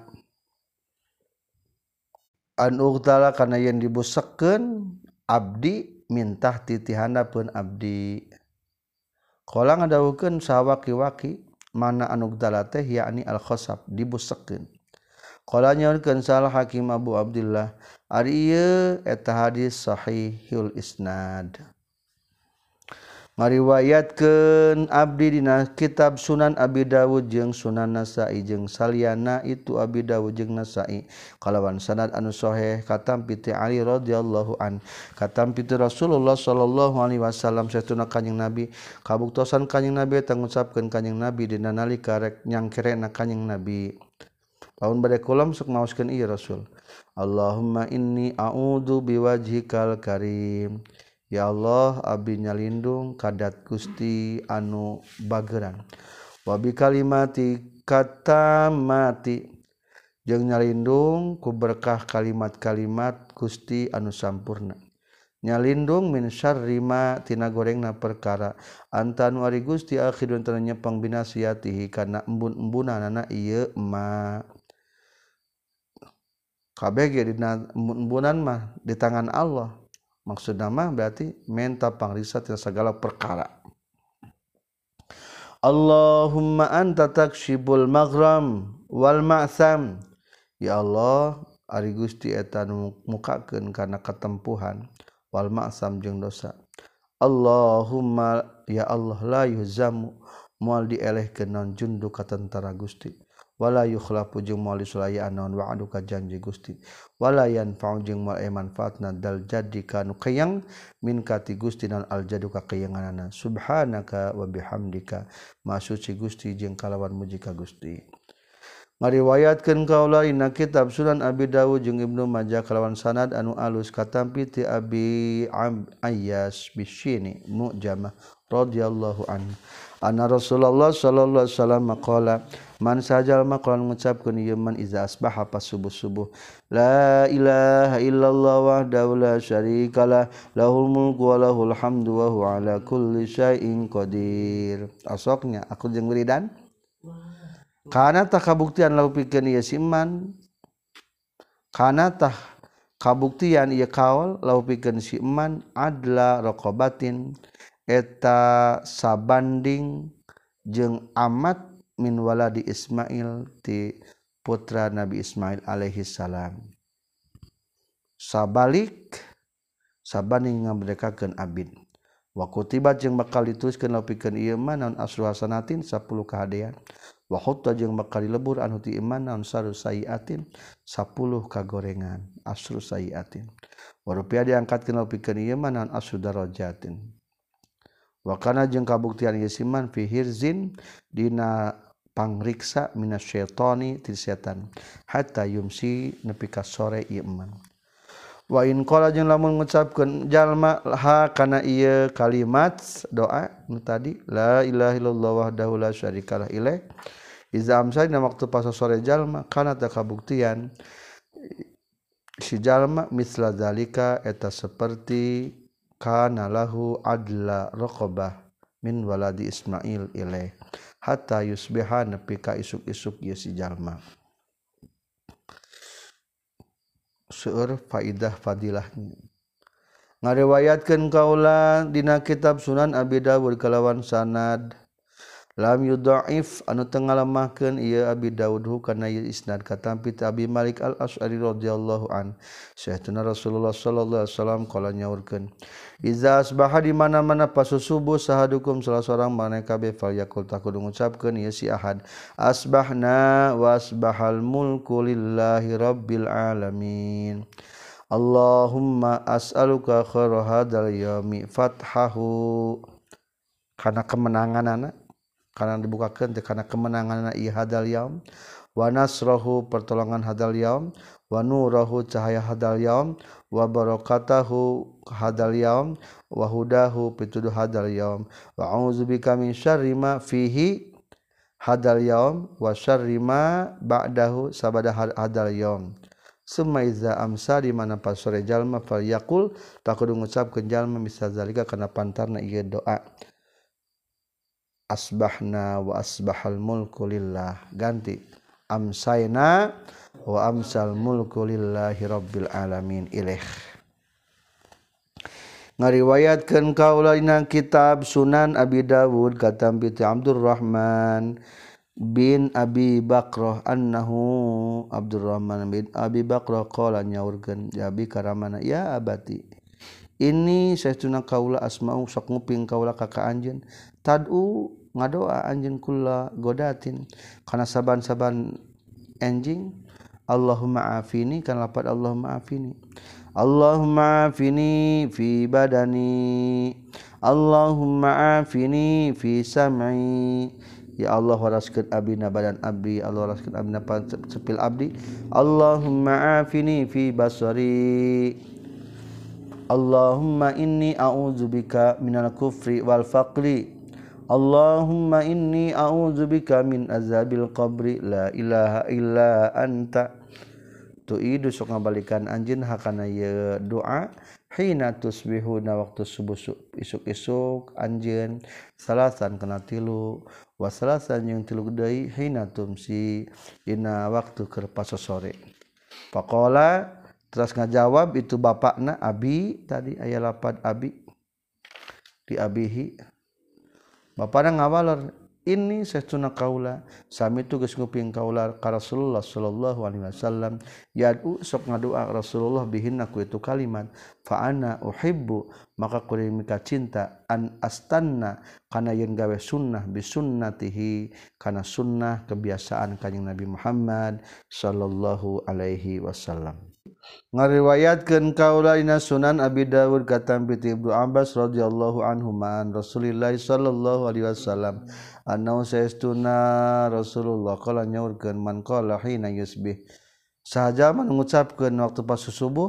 yen dibusekkeun abdi mintah titihandapeun abdi qala ngadawukeun sawaki-waki mana anu gdala teh yakni al khosab dibusekeun. Qala nyaurkeun salah Hakim Abu Abdullah ari ieu eta hadis sahihul isnad. Ngariwayatkeun abdi dina kitab Sunan Abi Dawud jeung Sunan Nasa'i jeung saliyana itu Abi Dawud jeung Nasa'i kalawan sanad anu sahih katampi ti Ali radhiyallahu an katampi ti Rasulullah sallallahu alaihi wasallam satuna kanjing Nabi kabuktosan kanjing Nabi eta ngucapkeun kanjing Nabi dina nalika rek nyangkerena kanjing Nabi laun bade kulam sok maoskeun ieu Rasul Allahumma inni a'udzu biwajhikal karim. Ya Allah abdi nyalindung kadat Gusti anu bageran wa bi kalimati katamati jeung nyalindung ku berkah kalimat-kalimat Gusti anu sampurna nyalindung min syarri ma tina gorengna perkara antanu ari Gusti akhirun teu nyepeng binasiatihi kana embun-embunanna ieu ma kabeh ge dina embun-embunan mah di tangan Allah. Maksudna mah berarti minta pangriksa tina segala perkara. Allahumma anta takshibul maghram wal ma'sam. Ya Allah, ari Gusti eta nu mukakeun kana katempuhan wal ma'sam jeung dosa. Allahumma ya Allah la yuzamu moal dielehkeun naon jundu ka tentara Gusti. Wala yukhlafu jeung moal disulayaan naon wa'adu ka janji Gusti wala yanfa'u jeung moal manfaatna dal jadi kanu kayang min kati Gusti naon al jadu ka kayanganana subhanaka wa bihamdika maha suci Gusti jeung kalawan muji ka Gusti. Ngariwayatkeun kaula dina kitab Sunan Abi Dawud jeung Ibnu Majah kalawan sanad anu alus katampi ti Abi Ayyas bisyini mu'jamah radhiyallahu anhu anna Rasulullah sallallahu alaihi wasallam qala man sajal maqalan ngucapkeun ieu man iza asbaha pas subuh-subuh la ilaha illallah wahdahu la syarikalah lahul mulku wa lahul hamdu wa huwa ala kulli syai'in qadir. Asoknya aku jeung wiridan kana tah kabuktian lahu pikeun ieu siman kana tah kabuktian ieu kaul lahu pikeun si iman adla raqabatin eta sabanding jeung amat min waladi Ismail ti putra Nabi Ismail alaihi salam sabalik sabanding ngabdekakeun abid wa kutibat jeung bakal dituliskeun pikeun ieu mah naon asru hasanatin 10 kahadean wa hutta jeung bakal dilebur anu ti iman naon saru sayiatin 10 kagorengan asru sayiatin wa rupiah diangkatkeun pikeun ieu mah naon asru darajatin wa kana jeung kabuktian ieu siman fi hirzin dina pangriksa minasyaitani ti setan hatta yumsi nepi ka sore ieu iman wa in qala jeung lamun ngucapkeun jalma ha kana ieu kalimat doa nu tadi la ilaha illallah wahdahu la syarikalah ilaih iza amsa dina waktu pas sore jalma kana ta kabuktian si jalma misla zalika eta seperti kana lahu adla raqabah min waladi Ismail ilaih hatta yusbiha nepi ka isuk-isuk ieu si jalma. Seueur faidah fadilahnya ngariwayatkeun kaula dina kitab Sunan Abi Dawud kalawan sanad lam yudhaif anu teu ngalemahkeun ieu Abi Dawud kana ieu isnad katampi ti Abi Malik Al-Asy'ari radhiyallahu an sayyidina Rasulullah sallallahu alaihi wasallam qala nyaurkeun iza asbaha di mana-mana pas subuh sahadukum salah seorang maneh kabeh fal yaqul takudu ngucapkeun ieu si ahad asbahna wa asbahal mulku lillahi rabbil alamin Allahumma as'aluka khaira hadzal yaumi fathahu kana kemenanganana kana dibukakeun teh kana kemenanganna ieu hadzal yaum wa nasrahu pertolongan hadzal yaum wa nurahu cahaya hadzal yaum wa barakatahu hadzal yaum wa hudahu pituduh hadzal yaum wa a'udzubika min syarri ma fihi hadzal yaum wa syarri ma ba'dahu sabada hadzal yaum summa iza amsa di mana pas sore jalma fal yaqul takudu ngucapkeun jalma misal zalika kana pantarna ieu doa asbahna wa asbahal mulku lillah ganti amsayna wa amsal mulku lillahi rabbil alamin ilaih ngariwayatkeun kaula dina kitab Sunan Abi Dawud katampi ti Abdurrahman bin Abi Bakrah annahu Abdurrahman bin Abi Bakrah qala nyaurkeun ya abi karamana ya abati ini saestuna kaula asma'u sok nguping kaula ka anjeun tad'u ngadoa anjeun kula godatin kana saban-saban enjing Allahumma afini kan lapat Allahumma afini Allahumma afini fi badani Allahumma afini fi sam'i ya Allah waraskeun abdina badan abdi Allah waraskeun abdina cepil abdi Allahumma afini fi basari Allahumma inni a'udzubika minal kufri wal faqri Allahumma inni a'udzubika min azabil qabri la ilaha illa anta tu'idu sok ngabalikan anjeun hakana ye doa hina tusbihuna waktu subuh isuk-isuk anjeun salasan kana tilu wa salasan jeung tilu deui hina tumsi dina waktu keur pasosore faqala terus ngajawab itu bapakna abi tadi aya lapad abi di abihi bapana ngawalor ini saestuna kaula sami tu geus nguping kaula ka Rasulullah sallallahu alaihi wasallam yad'u sok ngadoa Rasulullah bihinna ku itu kalimat fa ana uhibbu maka kuring mika cinta an astanna kana yen gawe sunnah bi sunnatihi kana sunnah kebiasaan kanjing Nabi Muhammad sallallahu alaihi wasallam ngariwayatkeun kaula dina Sunan Abi Dawud katampi ti Ibnu Abbas radhiyallahu anhu man Rasulillah sallallahu alaihi wasallam annahu saestuna Rasulullah qala nyaurkeun man qala hina yusbih sahaja man ngucapkeun waktu pas subuh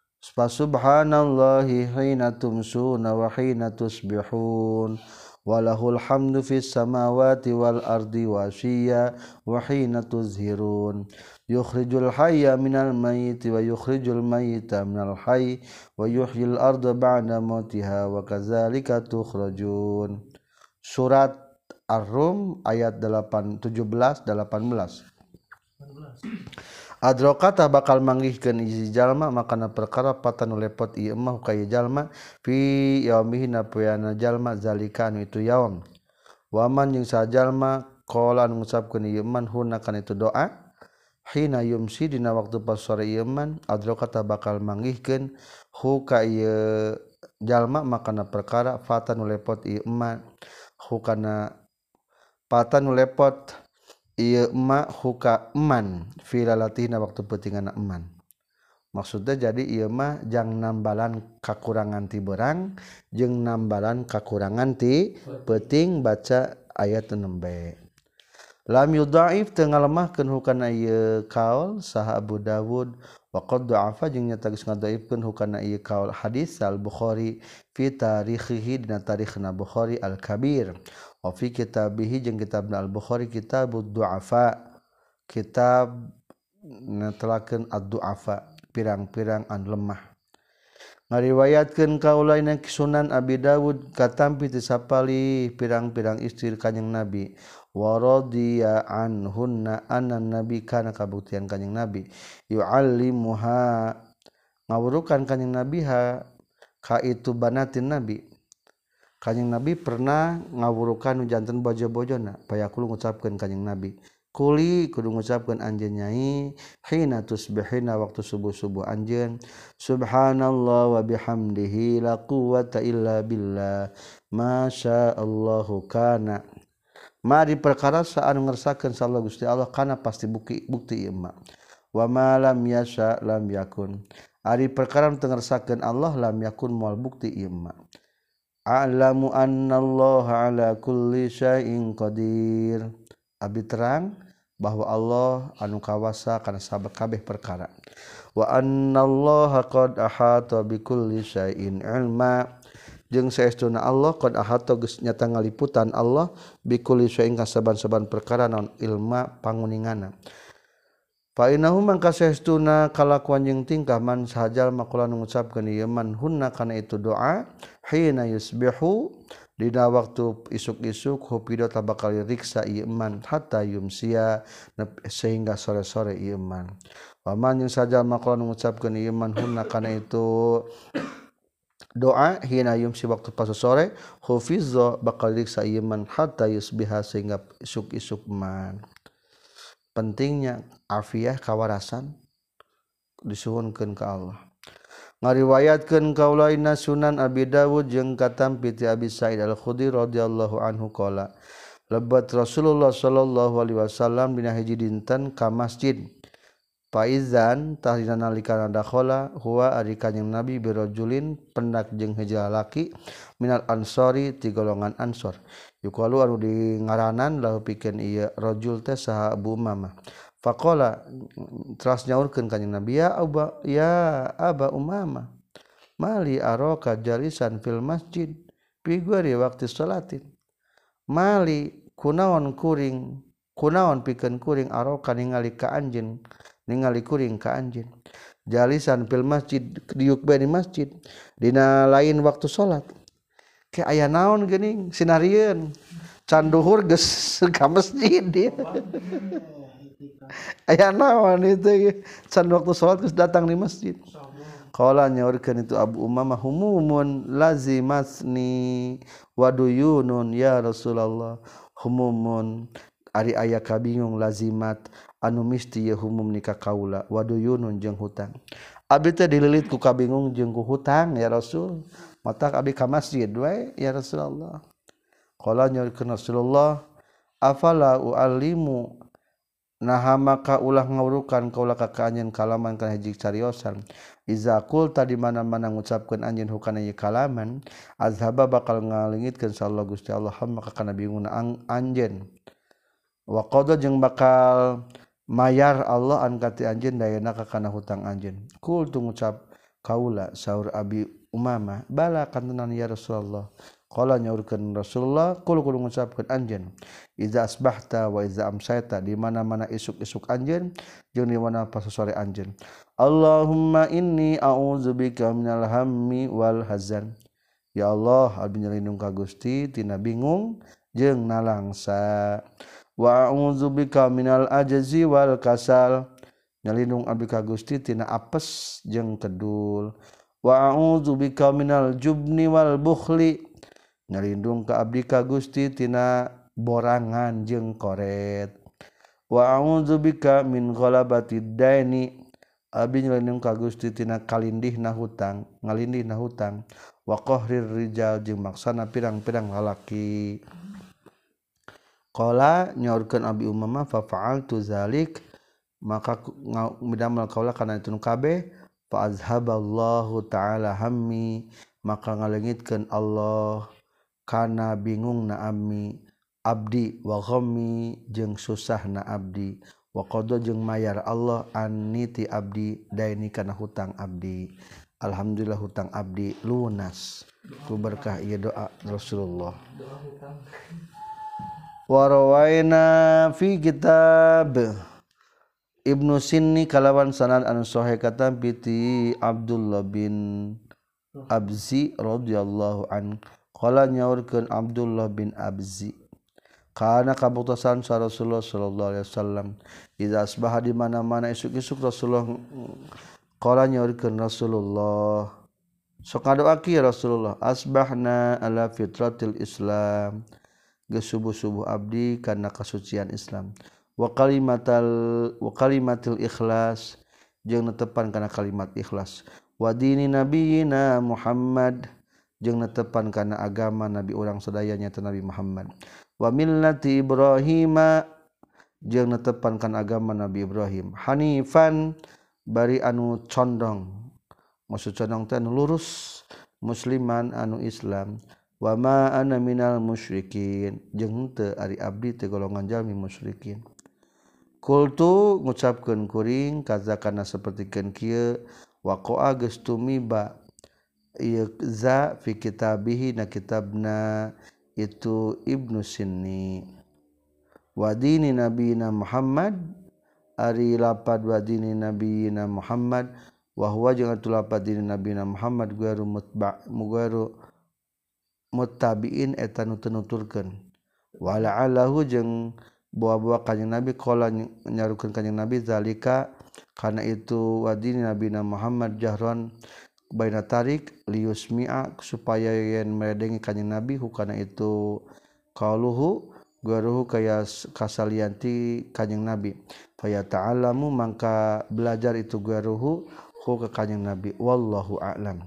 subhanallahi hina tumsuna wa hina tusbihun walahul hamdu fis samawati wal ardi washiya wa hina tuzhirun yukhrijul hayya minal mayyiti wa yukhrijul mayyita minal hayy wa yuhyil arda ba'da mautiha wa kadzalika tukhrajun surat Ar-Rum ayat 17 18 Adrokata bakal manggihkeun hiji jalma makana perkara patanu lepot ieu mah ka jalma fi yaumihi na poeana jalma zalika anu itu yaum waman jeung sajalma qala ngucapkeun ieu man hunna kana itu doa hina yumsi dina waktu pas sore ieu man adrokata bakal manggihkeun hu ka ieu jalma makana perkara patanu lepot ieu man hu kana patanu lepot ieu ma huka eman filalatina waktu peutingan eman maksudnya jadi ieu mah jang nambalan kakurangan ti beurang jeung nambalan kakurangan ti peuting baca ayat 6b lam yudhaif teu ngalemahkeun hukana ieu kaul saha Abu Dawud wa qad dha'afa jeung nyata geus ngadhaifkeun hukana ieu kaul hadis al Bukhari fi tarikhihi dina tarikhna Bukhari al Kabir wa fi kitabihi jeung kitabna al Bukhari kitabud du'afa kitab netelakeun ad-du'afa pirang-pirang anu lemah ngariwayatkeun kaula dina Sunan Abi Dawud katampi ti sapali pirang-pirang istri kanjing Nabi wa radiya anhunna anan nabi kana kabuktian kanjing Nabi yu'allimuha ngawurukan kanjing Nabi ha ka itu banatin Nabi kanjing Nabi pernah ngawurukan janten bojo-bojona payakulu ngucapkeun kanjing Nabi kuli kudu ngucapkeun anjeun nyai hina tusbihina waktu subuh-subuh anjeun subhanallah wa bihamdihi la quwwata illa billah masyaallahu kana mari perkara saanu ngersakakeun sallallahu Gusti Allah kana pasti bukti ieu mah wa ma lam yasha lam yakun ari perkara teu ngersakakeun Allah lam yakun moal bukti ieu mah a'lamu annallaha ala kulli syai'in qadir abi terang bahwa Allah anu kawasa kana kabeh perkara wa annallaha qad ahata bikulli syai'in ilma jeung saestuna Allah qad ahata geus nyata ngaliputan Allah bikulli syai'in kasaban-saban perkara naon ilma panguninganna fa innahu mangka saestuna kalakuan jeung tingkah man sahajal maqala ngucapkeun ieu man hunna kana itu doa hina yusbihu dina waktu isuk-isuk hupidot bakal riksa ieu man hatta yumsia sehingga sore-sore ieu man wa man jeung sajal maqala ngucapkeun ieu man hunna kana itu doa hina yumsi waktu pas sore hufizza bakal diriksa ieu man hatta yusbiha sehingga isuk-isuk man. Pentingnya afiah kawarasan disuhunkeun ka Allah. Ngariwayatkeun kaulaina Sunan Abi Dawud jeung katampi ti Abi Sa'id Al-Khudri radhiyallahu anhu qala lebat Rasulullah sallallahu alaihi wasallam dina hiji dinten ka masjid Faizan tahdina nalikana dakhala huwa ari kanjing Nabi birajulin pendak jeung hiji lalaki minal ansori ti golongan Ansor yuqalu anu dingaranan lahu pikeun ieu rajul teh saha Abu Umamah faqala teras nyaurkeun kanjing Nabi ya Aba Umamah mali araka jalisan fil masjid fi ghairi waqti salatin mali kunaon pikeun kuring araka ningali ka anjeun ningali kuring ka anjeun jalisan fil masjid diuk bae di masjid dina lain waktu salat ke aya naon geuning sinarieun can duhur geus ka masjid dia aya naon itu can waktu salat geus datang di masjid qala nyaurkeun itu Abu Umamah humumun lazimatni waduyunun ya Rasulullah humumun ari aya kabingung lazimat anu misti ye humum nikah kaula waduyunun jeung hutang abdi teh dililit ku kabingung jeung ku hutang ya Rasul matak abdi ka masjid wae ya Rasulullah qala nyaurkeun Rasulullah afala uallimu naha maka ulah ngawurukan kaula ka anjeun kalaman kana hiji cariosan iza qulta di mana-mana ngucapkeun anjeun hukana ieu kalaman azhaba bakal ngalingitkeun sallallahu Gusti Allah maka kana bingungna anjeun wa qada jeung bakal mayar Allah an kati anjeun dayana ka kana hutang anjeun kul tu ngucap kaula saur Abi Umamah bala kantenan ya Rasulullah qala nyaurkeun Rasulullah kul kudu ngucapkeun anjeun iza asbahta wa iza amsayta di mana-mana isuk-isuk anjeun jeung di mana pas sore anjeun Allahumma inni a'udzubika minal hammi wal hazan ya Allah abdi nyalindung ka Gusti tina bingung jeung nalangsa wa a'udzubika minal ajzi wal kasal nyalindung abdi ka Gusti tina apes jeung kedul wa a'udzubika minal jubni wal bukhli nyalindung ka abdi ka Gusti tina borangan jeung koret wa a'udzubika min ghalabati daini abdi nyalindung ka Gusti tina kalindihna hutang ngalindihna hutang wa qahrir rijal jeung maksana pirang-pirang lalaki qala nyaurkeun Abi Umamah fa fa'altu zalik maka midamel kaula kana itu kabeh fa azhaballahu ta'ala hammi maka ngalengitkeun Allah kana bingungna abdi wa ghammi jeung susahna abdi wa qada jeung mayar Allah anniti abdi daini kana hutang abdi alhamdulillah hutang abdi lunas ku berkah ieu doa Rasulullah wa rawaina fi kitab Ibnu Sinni kalawan sanad anu sahih katam piti Abdullah bin Abzi radhiyallahu an qala nyaurkeun Abdullah bin Abzi kana kabuktosan sa Rasulullah sallallahu alaihi wasallam idza asbaha di mana-mana isuk-isuk Rasulullah qala nyaurkeun Rasulullah sok ngadoaki Rasulullah asbahna ala fitratil Islam geus subuh-subuh abdi kana kasucian Islam wa kalimatil ikhlas jeung netepan kana kalimat ikhlas wa dini nabiyina Muhammad jeung netepan kana agama nabi urang sadaya nya Nabi Muhammad wa millati Ibrahim jeung netepan kana agama Nabi Ibrahim hanifan bari anu condong maksud condong teh anu lurus musliman anu Islam wa ma ana minal musyrikin jeung teu ari abdi teh golongan jalmi musyrikin kultu ngucapkeun kuring kaza kana sapertikeun kieu waqa'a geus tumiba ieu za fi kitabihi na kitabna itu Ibnu Sinni wa dini nabiyina Muhammad ari lapad wa dini nabiyina Muhammad wa huwa jeung atu lapad dini nabiyina Muhammad guaru muttabiin eta nu teu nuturkeun wa la'alahu jeung bawa-bawa kanjing Nabi qala nyarukeun kanjing Nabi zalika kana itu wadini nabina Muhammad jahron baina tarik liusmi'a supaya yen merendengi kanjing Nabi hukana itu qauluhu guruhu kaya kasalianti kanjing Nabi faya ta'alamu mangka belajar itu guruhu hu ka kanjing Nabi wallahu a'lam.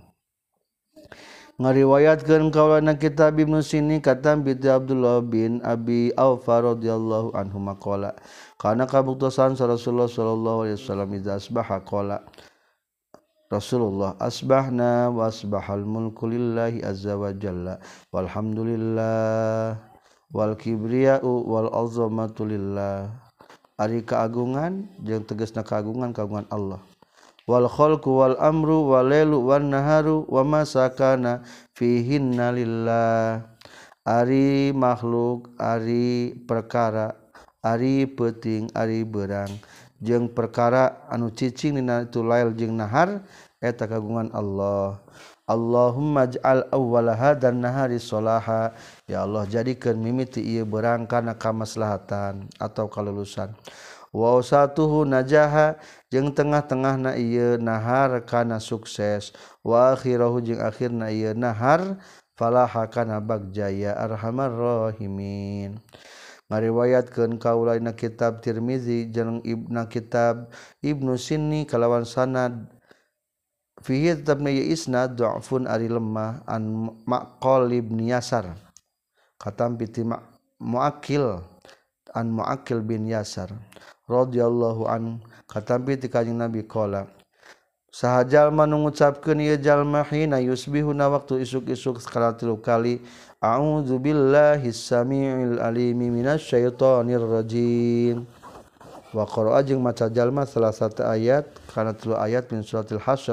Ngariwayatkeun kaulana kitab Ibnu Sini katam bi Abdullah bin Abi Aufa radhiyallahu anhu maqala kana kabuktosan Rasulullah sallallahu alaihi wasallam idza asbaha qala Rasulullah asbahna wa asbahal mulku lillahi azza wa jalla walhamdulillah wal kibriya'u wal azamatu lillah ari kaagungan jeung tegasna kaagungan Allah wal khalqu wal amru wal lailu wan naharu wa ma sakana fihinna lillah ari makhluk ari perkara ari peuting ari beurang jeung perkara anu cicing dina itu lail jeung nahar eta kagungan Allah. Allahumma ij'al awwala hadan nahari salaha ya Allah jadikeun mimiti ieu beurang kana kamaslahatan atau kalulusan wa usatuhu najaha jeung tengah-tengahna ieu nahar kana sukses wa akhirahu jeung akhirna ieu nahar falaha kana bagjaya arhamar rahimin. Ngariwayatkeun kaulaina kitab Tirmizi jeung kitab Ibnu Sinni kalawan sanad fihi tetapna ieu isnad dha'fun ari lemah an Maqal bin Yasar katam piti Muakil an Muakil bin Yasar radhiyallahu an katampi ti kanjing Nabi qala saha jalma nu ngucapkeun ieu jalma hina yusbihuna waktu isuk-isuk sekali 3 kali a'udzu billahi samiil alimi minasyaitonir rajim wa qara'a jeung maca jalma salah satu ayat kana 3 ayat min suratil hasyr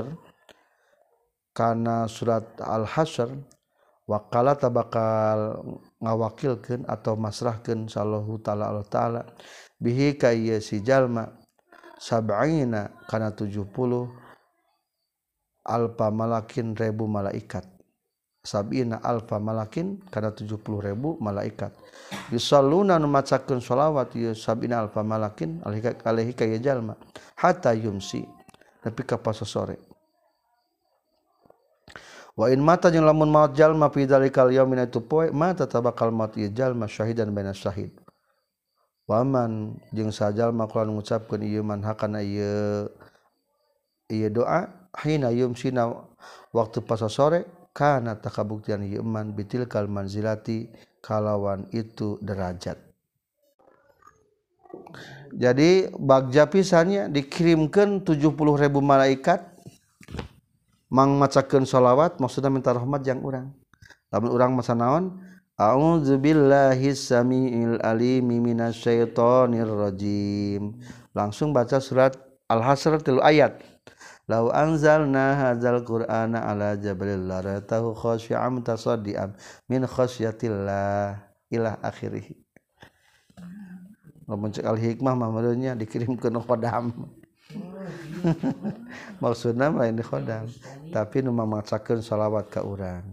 kana surat al-hasyr wa qala tabakal ngawakilkeun atau masrahkeun sallallahu taala Allah taala bihi ka ieu si jalma sab'ina kana 70 alfa malakin ribu malaikat sab'ina alfa malakin kana 70 ribu malaikat yusalluna nu macakeun shalawat ieu sab'ina alfa malakin alaihi ka ieu jalma hatta yumsi nepi ka pasa sore wa in mata jeung lamun maot jalma fi dzalikal yaumin itu poe mata tabakal maut ieu jalma syahidan baina syahid waman jeung sajalma qala ngucapkeun ieu man hakana ieu doa hina yumsina waktu pasa sore kana takabuktian ieu man bitilkal manzilati kalawan itu derajat. Jadi bagja pisannya dikirimkeun 70.000 malaikat mang macakeun shalawat maksudna minta rahmat jang urang lamun urang masa naon a'udzu billahi samiil alimi minasyaitonir rajim langsung baca surat al-hasyr 3 ayat lau anzalna hadzal qur'ana ala jabalil laratahu khashi'an mutasaddian min khasyatillah ila akhirih lamun cek al-hikmah mah meureunnya dikirimkeun khodam maksudna lain di khodam tapi nu mamacakeun shalawat ka urang.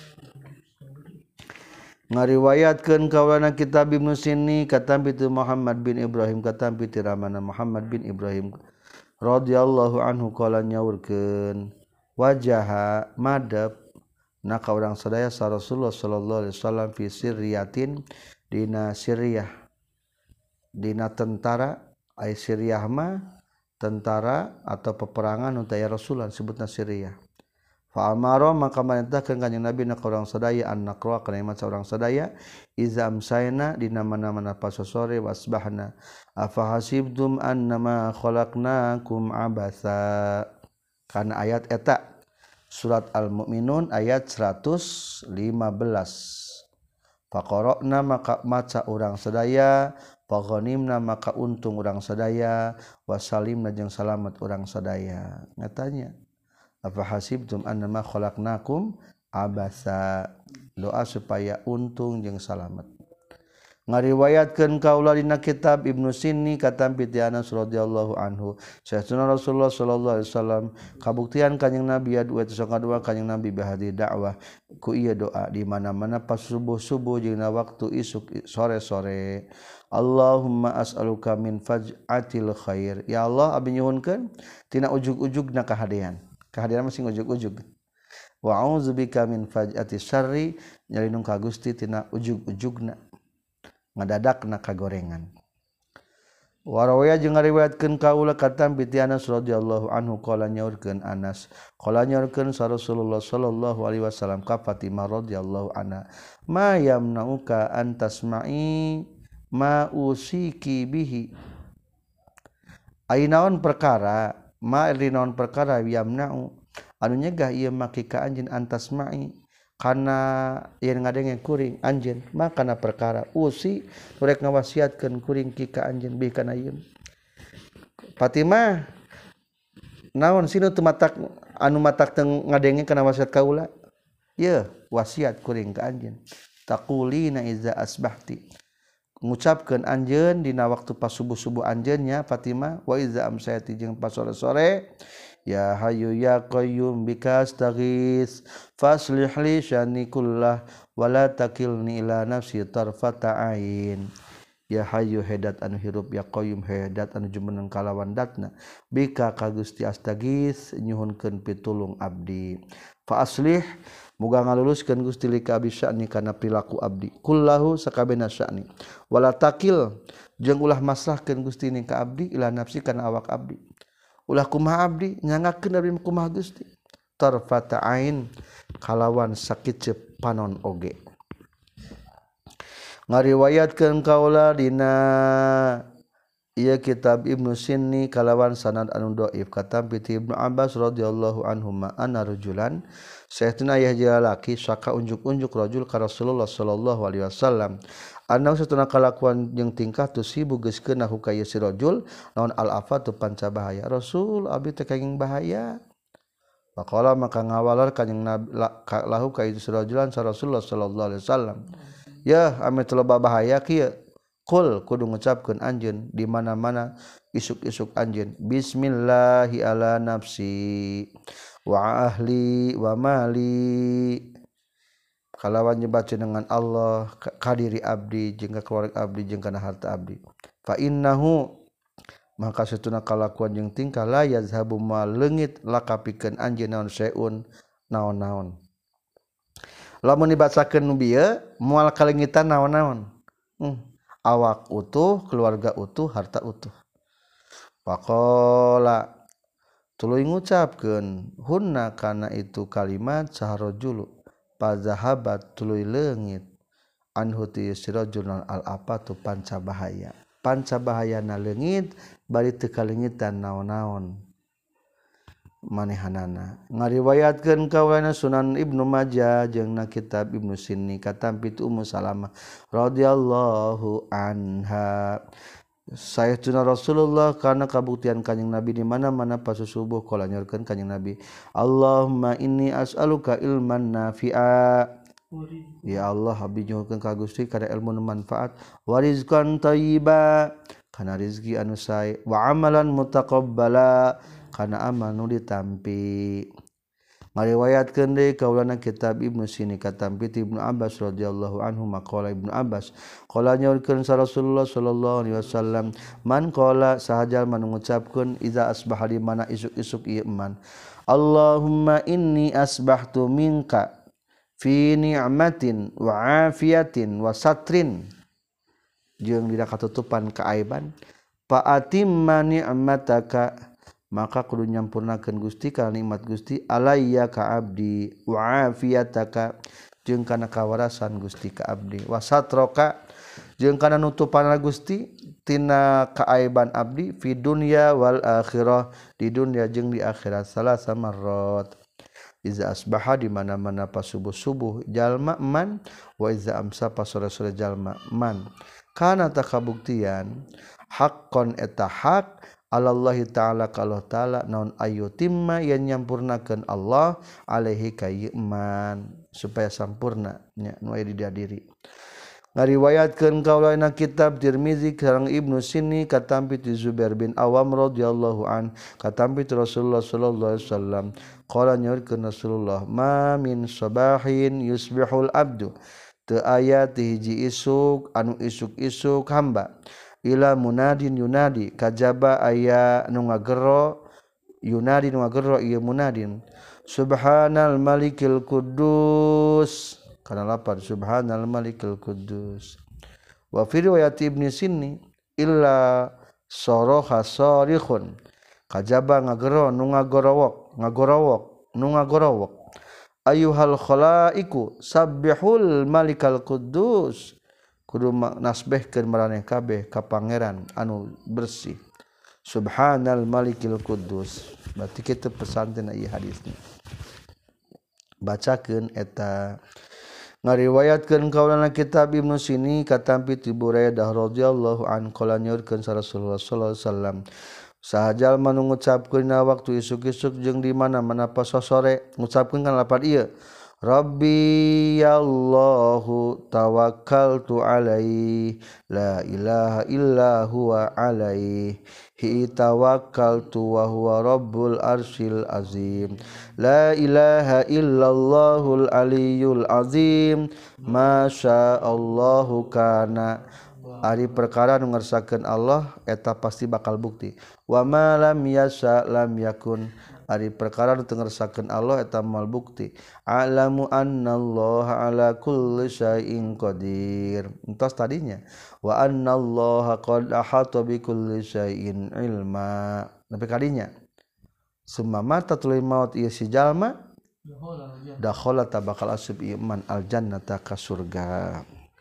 Ngariwayatkeun kaulana kitab Ibnu Sini katam pitu Muhammad bin Ibrahim katam pitu ramana Muhammad bin Ibrahim radhiyallahu anhu qala nyaurkeun wajaha madab na ka urang sadaya sa Rasulullah sallallahu alaihi wasallam fi sirriyatin dina Siriyah dina tentara ai Siriyah mah tentara atau peperangan nu taya Rasulullah disebutna Siriyah. Fa amara maka merintahkeun kanjing Nabi na ka urang sadaya an naqra kana maca urang sadaya iza amsayna dina mana-mana pas sore wasbahna afa hasibtum annama khalaqnakum abasa kana ayat eta surat al-mu'minun ayat 115 faqara'na maka maca urang sadaya faghanimna maka untung urang sadaya wasalimna jeung salamet urang sadaya ngatanya apa hasibtum annama khalaqnakum abasa doa supaya untung jeung salamet. Ngariwayatkeun kaula dina kitab Ibnu Sini katam piti Anas radhiyallahu anhu sayyidina Rasulullah sallallahu alaihi wasallam kabuktian kanjing Nabi adu eta sakadua kanjing Nabi bahadi dakwah ku ieu doa di mana-mana pas subuh-subuh jeung waktu isuk sore-sore Allahumma as'aluka min faj'atil khair ya Allah abdi nyuhunkeun tina ujug-ujugna kahadean kehadiran masih ujug-ujug wa a'udzubika min faj'ati syarri nyalindung ka Gusti tina ujug-ujugna ngadadakna kagorengan warawaya jeung ngariwayatkeun kaula katam bi Anas radhiyallahu anhu qala nyaurkeun Anas qala nyaurkeun Rasulullah sallallahu alaihi wasallam ka Fatimah radhiyallahu anha ma yamnauka an tasma'i ma usiki bihi ainaon perkara ma rinaon perkara yamna'u anu nyegah ieu make ka anjeun an tasma'i kana yen ngadenge kuring anjeun makana perkara usi rek ngawasiatkeun kuring ki ka anjeun bi kana ieu Fatimah naon sinu teu matak anu matak teu ngadenge kana wasiat kaula ye wasiat kuring ka anjeun taqulina iza asbahti ngucapkeun anjeun dina waktu pas subuh-subuh anjeunnya Fatimah wa iza amsayati jeung pas sore-sore ya hayyu ya qayyum bika astaghits faslih li syani kullah wala takilni ila nafsi tarfata ain ya hayyu hedat anu hirup ya qayyum hedat anu jumeneng kalawan datna bika ka Gusti astaghits nyuhunkeun pitulung abdi fa aslih muga ngaluluskeun Gusti lika abdi syani kana perilaku abdi kullahu sakabehna syani wala takil jeung ulah maslahkeun Gusti ni ka abdi ila nafsi kana awak abdi ulah kumaha abdi nyangakeun abdi kumaha Gusti tarfata ain kalawan sakit panon oge ngariwayatkeun kaula dina ieu kitab Ibnu Sinni kalawan sanad anu dhaif katam bi Ibnu Abbas radhiyallahu anhuma anna rajulan saestuna aya jalaki saka unjuk-unjuk rajul ka Rasulullah sallallahu alaihi wasallam anna satuna kalakuan jeung tingkah tusibu geus keuna hukaya si rajul naon al afatu panca bahaya Rasul abdi teh kenging bahaya maqala maka ngawalar kanjing nabi lahu ka itu rajulan sa Rasulullah sallallahu alaihi wasallam ya ame teu loba bahaya kieu qul kudu ngucapkeun anjeun di mana-mana isuk-isuk anjeun bismillahi ala nafsi wa ahli wa mali kalawan nyebaceun dengan Allah ka diri abdi jeung ka keluarga abdi jeung kana harta abdi fa innahu maka satuna kalakuan jeung tingkah la yazhabu ma leungit lakapikeun anjeun naon seun naon-naon lamun dibacakeun nu bieu moal kalengitan naon-naon awak utuh keluarga utuh harta utuh faqala tuluy ngucapkeun hunna kana itu kalimat saharajulu pazahabat tuluy leungit anhu ti sirajul al apatu panca bahayana leungit bari teu kalengitan naon-naon manehanana ngariwayatkeun kawana Sunan Ibnu Majah jeung na kitab Ibnu Sinni katampi Ummu Salamah radhiyallahu anha sayyidina Rasulullah kana kabuktian kanjing Nabi di mana-mana pas subuh kala nyorkeun kanjing Nabi Allahumma inni as'aluka ilman nafi'a ya Allah abdi nyuhunkeun ka Gusti kana ilmu nu manfaat wa rizqan thayyiba kana rezeki anu sae wa amalan mutaqabbala kana amal nu ditampi ngariwayatkeun deui kaulana kitab Ibnu Sinni katampi Ibnu Abbas radhiyallahu anhu maqala Ibnu Abbas qala nyaurkeun sa Rasulullah sallallahu alaihi wasallam man qala sahajal man ngucapkeun iza asbaha di mana isuk-isuk ieu man Allahumma inni asbahtu minka fi ni'matin wa afiyatin wa satrin jeung dina katutupan kaaiban fa atimma ni'mataka maka kudu nyampurnakeun Gusti kana nikmat Gusti alayya ka abdi wa afiyataka jeung kana kawarasan Gusti ka abdi wa satroka jeung kana nutupan Gusti tina kaaiban abdi fi dunya wal akhirah di dunya jeung di akhirat salasa marrat iza asbaha di mana-mana pas subuh-subuh jalma man wa iza amsa pas sore-sore jalma man kana takabuktian haqqon eta hak Allah ta'ala kalau ta'ala naon ayu timma yang nyampurnakeun Allah alaihi kayman supaya sampurna nya nu aya di diri ngariwayatkeun kaulana kitab Tirmizi sareng Ibnu Sinni katampi ti Zubair bin Awam radhiyallahu an katampi Rasulullah sallallahu alaihi wasallam qala nyaurkeun Rasulullah ma min sabahin yusbihul abdu teu aya ti hiji isuk anu isuk-isuk hamba ila munadin yunadi kajaba aya nu ngagero yunadin wa gerro ieu munadin subhanal malikil quddus kana lapan subhanal malikil quddus wa fi riwayat ibni sinni illa saraha sarikhun kajaba ngagero nu ngagorowok ayuhal khalaiku sabbihul malikal quddus kudu nasbehkeun maraneh kabeh ka pangeran anu bersih subhanal malikil quddus berarti kitu pesantina ieu hadisna bacakeun eta ngariwayatkeun kaulana kitab Ibnu Sini katampi ti Buraidah radhiyallahu an qala nyaurkeun Rasulullah sallallahu alaihi wasallam sahajal manu ngucapkeun waktu isuk-isuk jeung di mana-mana pas sore ngucapkeun kan lapan ieu Rabbi ya Allahu tawakkaltu alaihi la ilaha illa huwa alaihi hi tawakkaltu wa huwa rabbul arsyil azim la ilaha illallahul aliyyul azim masya Allahu kana ari perkara nu ngersakakeun Allah eta pasti bakal bukti wa ma lam yasha lam yakun ari perkara nu teu ngersakakeun Allah eta moal bukti alamu annallaha ala kulli syai'in qadir entos tadinya wa annallaha qad ahata bi kulli syai'in ilma nepi kadinya summa mata tulil maut ieu si jalma dakhala tabakal asub iman al jannata ka surga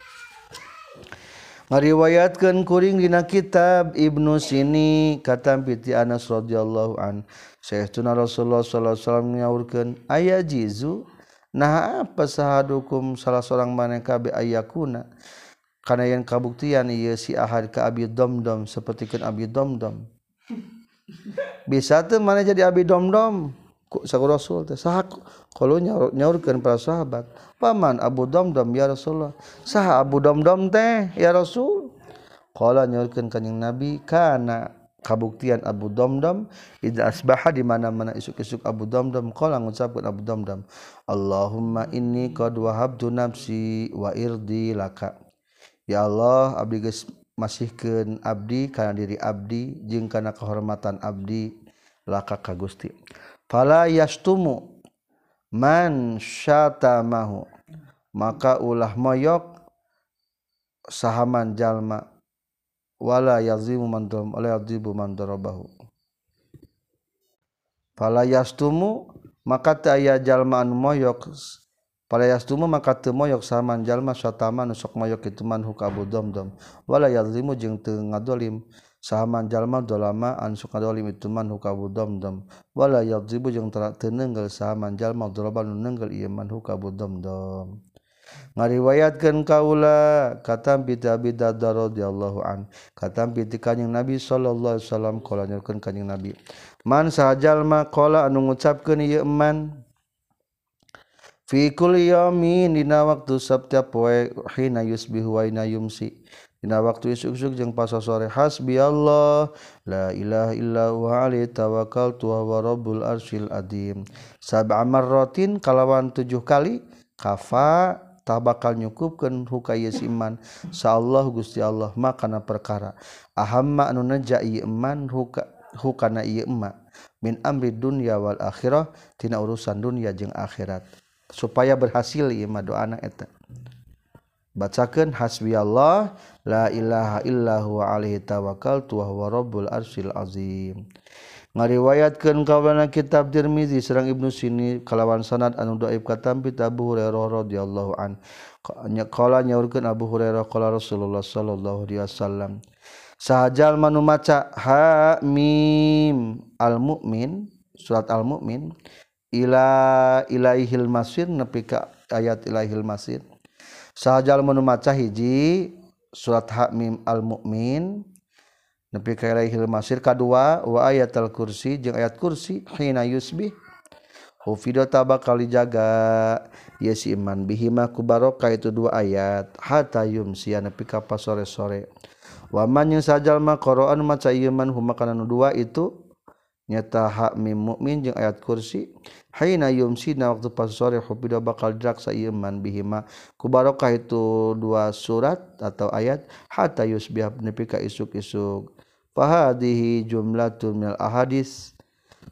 ngariwayatkeun kuring dina kitab Ibnu Sini katampi ti Anas radhiyallahu an sayyidina Rasulullah sallallahu alaihi wasallam nyaurkeun aya jizu nah apa sahadukum salah seorang maneh kabeh ayakuna kana yen kabuktian ieu si ahad ka abi domdom sapertikeun abi domdom bisa teu maneh jadi abi domdom saku Rasul teh saha qalu nyaurkeun para sahabat paman Abu Domdom ya Rasulullah saha Abu Domdom teh ya Rasul qala nyaurkeun kanjing Nabi kana kabuktian Abu Domdom idza asbaha di mana-mana isuk-isuk Abu Domdom qala ngucapkeun Abu Domdom Allahumma inni qad wahabtu nafsi wa irdi laka ya Allah abdi geus masihkeun abdi kana diri abdi jeung kana kehormatan abdi laka ka Gusti fala yastumu man syatamahu maka ulah moyok sahaman jalma wala yazimu man dalam wala yadzibu man darabahu fala yastumu maka teu aya jalma anu moyok fala yastumu maka teu moyok sahaman jalma syatama nu sok moyok kitu man hu ka Abu Domdom wala yazimu jeung teu ngadolim sahaman jalma dolama anu sok ngadolim itu man hu ka Abu Domdom wala yadzibu jeung teu neunggel sahaman jalma dolama nu neunggel ieu man hu ka Abu Domdom ngariwayatkeun kaula katampi ti Abi Darda radhiyallahu an katampi ti kanjing Nabi sallallahu alaihi wasallam qala nyaurkeun kanjing Nabi man sahajalma qala anu ngucapkeun ieu eman fi kulli yaumin dina waktu setiap poe hina yusbihu wa hina yumsi dina waktu isuk-isuk jeung pas sore hasbiyallah la ilaha illa huwa alaihi tawakkaltu wa huwa rabbul arsyil azim sab'a marratin kalawan 7 kali kafa tah bakal nyukupkeun hukaya siman saallah Gusti Allah makana perkara ahamma anu naja ieu eman hukana ieu emma min amri dunya wal akhirah tina urusan dunia jeung akhirat supaya berhasil ieu mah doana eta bacakeun hasbiyallah la ilaha illa huwa alaihi tawakkaltu wa huwa rabbul arsyil azim ngariwayatkeun kaulana kitab Tirmizi sareng Ibnu Sini kalawan sanad anu dhaif katampi Abu Hurairah radhiyallahu an qala nyaurkeun Abu Hurairah qala Rasulullah sallallahu alaihi wasallam sahajal manu maca ha mim al mukmin surat al mukmin ila ilaihil masir nepi ka ayat ilaihil masir sahajal manu maca hiji surat ha mim al mukmin nepi ka ilaihil masir kadua wa ayatul kursi jeung ayat kursi hina yusbih hufidata bakal dijaga ya si iman bihima ku barokah itu dua ayat hatta yumsi nepi ka sore-sore wa man sajal ma qara'an maca ieu man huma kana nu dua itu nyata ha mim mukmin jeung ayat kursi hina yumsi na waktu pas sore hufida bakal diraksa ieu man bihima ku barokah itu dua surat atau ayat hatta yusbih nepi ka isuk-isuk fahadihi jumlatun minal ahadis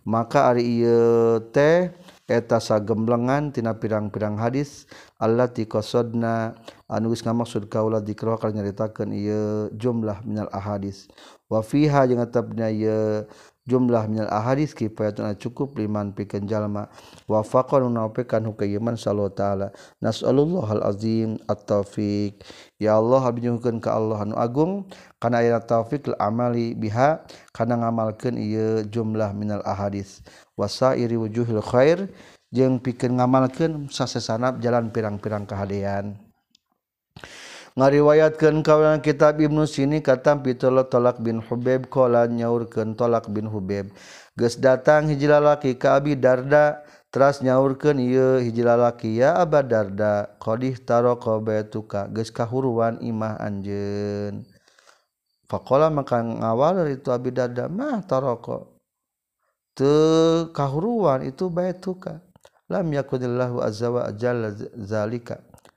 maka ari ieu teh eta sagemblengan tina pirang-pirang hadis allati qasodna anu geus ngamaksud kaula dikra kana nyaritakeun ieu jumlah minal ahadis wa fiha jeung tetepna ieu jumlah minal ahadis kifayatun cukup liman pikeun jalma wa faqan naopekan hukayeman sallallahu taala nasallallahu azim at-taufiq ya Allah abnyuhkeun ka Allah anu agung kana aya taufik al amali biha kana ngamalkeun ieu jumlah minal ahadis wasairi wujuhil khair jeung pikeun ngamalkeun sasesana jalan pirang-pirang kahadean ngariwayatkeun kaula kitab Ibnu Sini katam pitulot Tolak bin Hubaib qala nyaurkeun Tolak bin Hubaib geus datang hiji lalaki ka Abi Darda teras nyaurkeun ieu hiji lalaki ya Aba Darda qadih taraka baituka geus kahuruan imah anjeun faqala maka ngawal itu Abi Darda mah taraka teu kahuruan itu baituka lam yakunillahu azza wa jalla zalika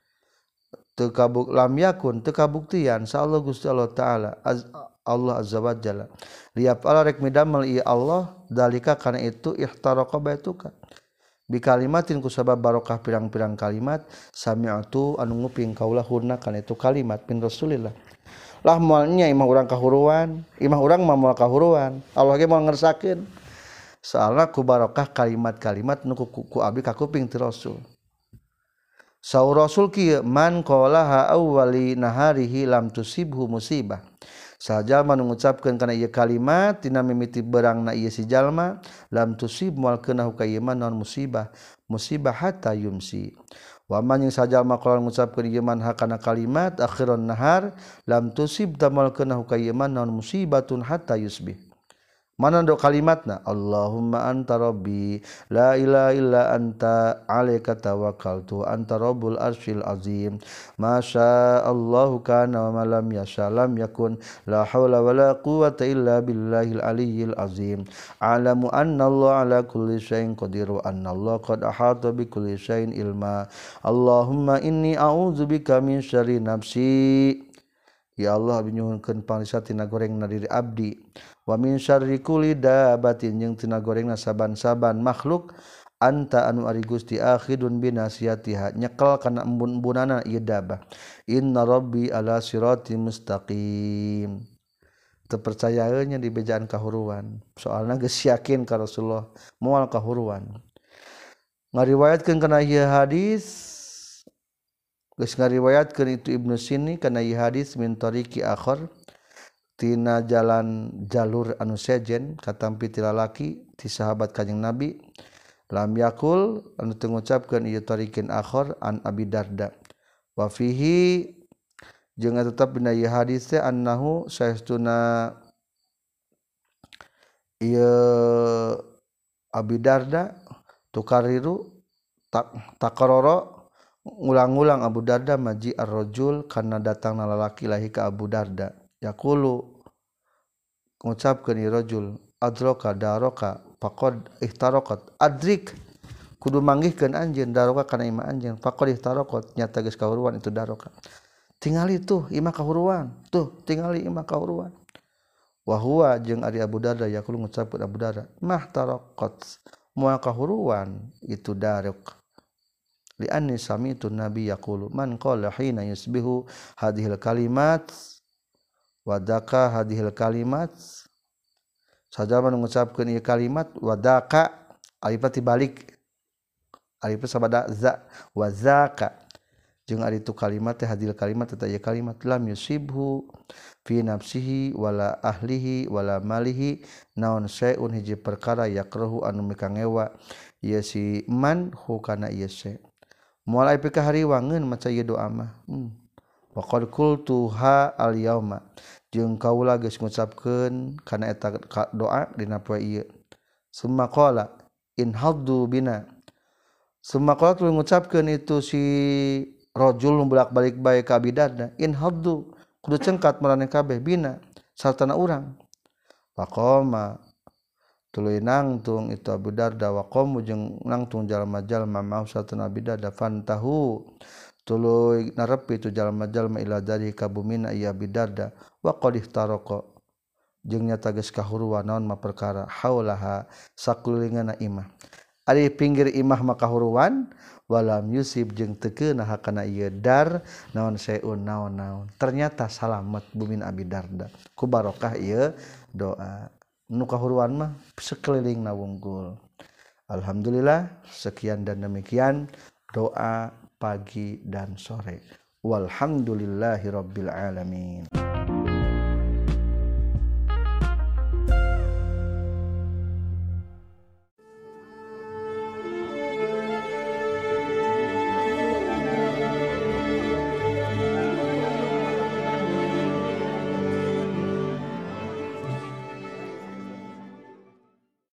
lam yakun teu kabuktian insyaallah Gusti Allah taala Allah azza wa jalla liap ala rek midamel ieu Allah dalika kana itu ihtaraqa baituka bi kalimatin ku sabab barokah pirang-pirang kalimat sami'tu anu nguping kaula hunna kana itu kalimat min Rasulillah lah moal nya imah urang kahuruan imah urang mah moal kahuruan Allah ge moal ngersakeun soalna ku barokah kalimat-kalimat nu ku abdi ka kuping ti Rasul saur Rasul kieu man qalaha awwali naharihi lam tusibhu musibah sajalma nu ngucapkeun kana ieu kalimat tina mimiti beurangna ieu si jalma lam tusib moal keunah ka ieu man naon musibah hatta yumsi wa man yang sajalma qala ngucapkeun ieu man hakana kalimat akhiron nahar lam tusib tamal keunah ka ieu man naon musibatun hatta yusbih mana do kalimatna Allahumma anta rabbi la ilaha illa anta alaika tawakkaltu anta rabbul arsyil azim masya Allahu kana wa ma lam yasha lam yakun la haula wala quwwata illa billahil aliyyil azim alamu anna Allah ala kulli syai'in qadir wa anna Allah qad ahata bi kulli syai'in ilma Allahumma inni a'udzubika min syarri nafsi ya Allah binyuhunkeun pangriksa tina gorengna diri abdi wa min syarri kulli dabatin jeung tina gorengna saban-saban makhluk anta anu ari Gusti akhidun binasiyatiha nyekel kana embun-embunana ieu dabah inna rabbi ala siratim mustaqim teu percayaeunnya di bejaan kahuruan soalna geus yakin ka Rasulullah moal kahuruan ngariwayatkeun kana ieu hadis geus ngariwayatkeun itu Ibnu Sini kana ieu hadis min tariqi akhar tina jalan jalur anu sejen katampi ti lalaki ti sahabat Kanjeng Nabi lam yakul anu teu ngucapkeun ieu tariqin akhar an Abi Darda wa fihi jeung tetep dina ieu hadis teh annahu saestuna ieu Abi Darda tukariru takaroro ngulang-ulang Abu Darda maji ar-rajul kana datangna lalaki lahi ka Abu Darda yaqulu ngucapkeun ieu rajul adraka daraka faqad ihtaraqat adrik kudu manggihkeun anjeun daraka kana imah anjeun faqad ihtaraqat nyata geus kahuruan itu daraka tingali tuh imah kahuruan tuh tingali imah kahuruan wa huwa jeung ari Abu Darda yaqulu ngucapkeun Abu Darda mah taraqat moal kahuruan itu daraka li anni sami'tu nabi yaqulu man qala hina yusbihu hadhil kalimat wadaka hadhil kalimat sajama mengucapkeun ieu kalimat wadaka alif balik alif sabada za wa zaka jeung ari tu kalimat teh hadhil kalimat eta ieu kalimat lam yusibhu fi nafsihi wala ahlihi wala malihi naon saeun hiji perkara yakrahu anu mikangewa ieu si man hu kana ieu se moal aya pikahariwangeun maca ieu doa mah wa qad qultuha al yauma jeung kaula geus ngucapkeun kana eta doa dina poe ieu summa qala in haddu bina summa qala tu ngucapkeun itu si rajul bolak-balik bae ka Abi Darda in haddu kudu cengkat maraneh kabeh bina sartana urang faqama tuluy nangtung itu Abu Darda wa qamu jeung nangtung jalma-jalma mau sartana Abi Darda fantahu tuluy narepi itu jalma-jalma ila dari kabumina ieu Abi Darda wa qad ihtaraqa jeung nya tages kahuruan naon ma perkara haulaha sakulinganna imah ari pinggir imah mah kahuruan walam yusib jeung teu keunah kana ieu dar naon seun naon-naon ternyata salamet bumin Abi Darda ku barokah ieu doa nu kahuruan mah sekelilingna wungkul. Alhamdulillah sekian dan demikian doa pagi dan sore walhamdulillahirabbil alamin.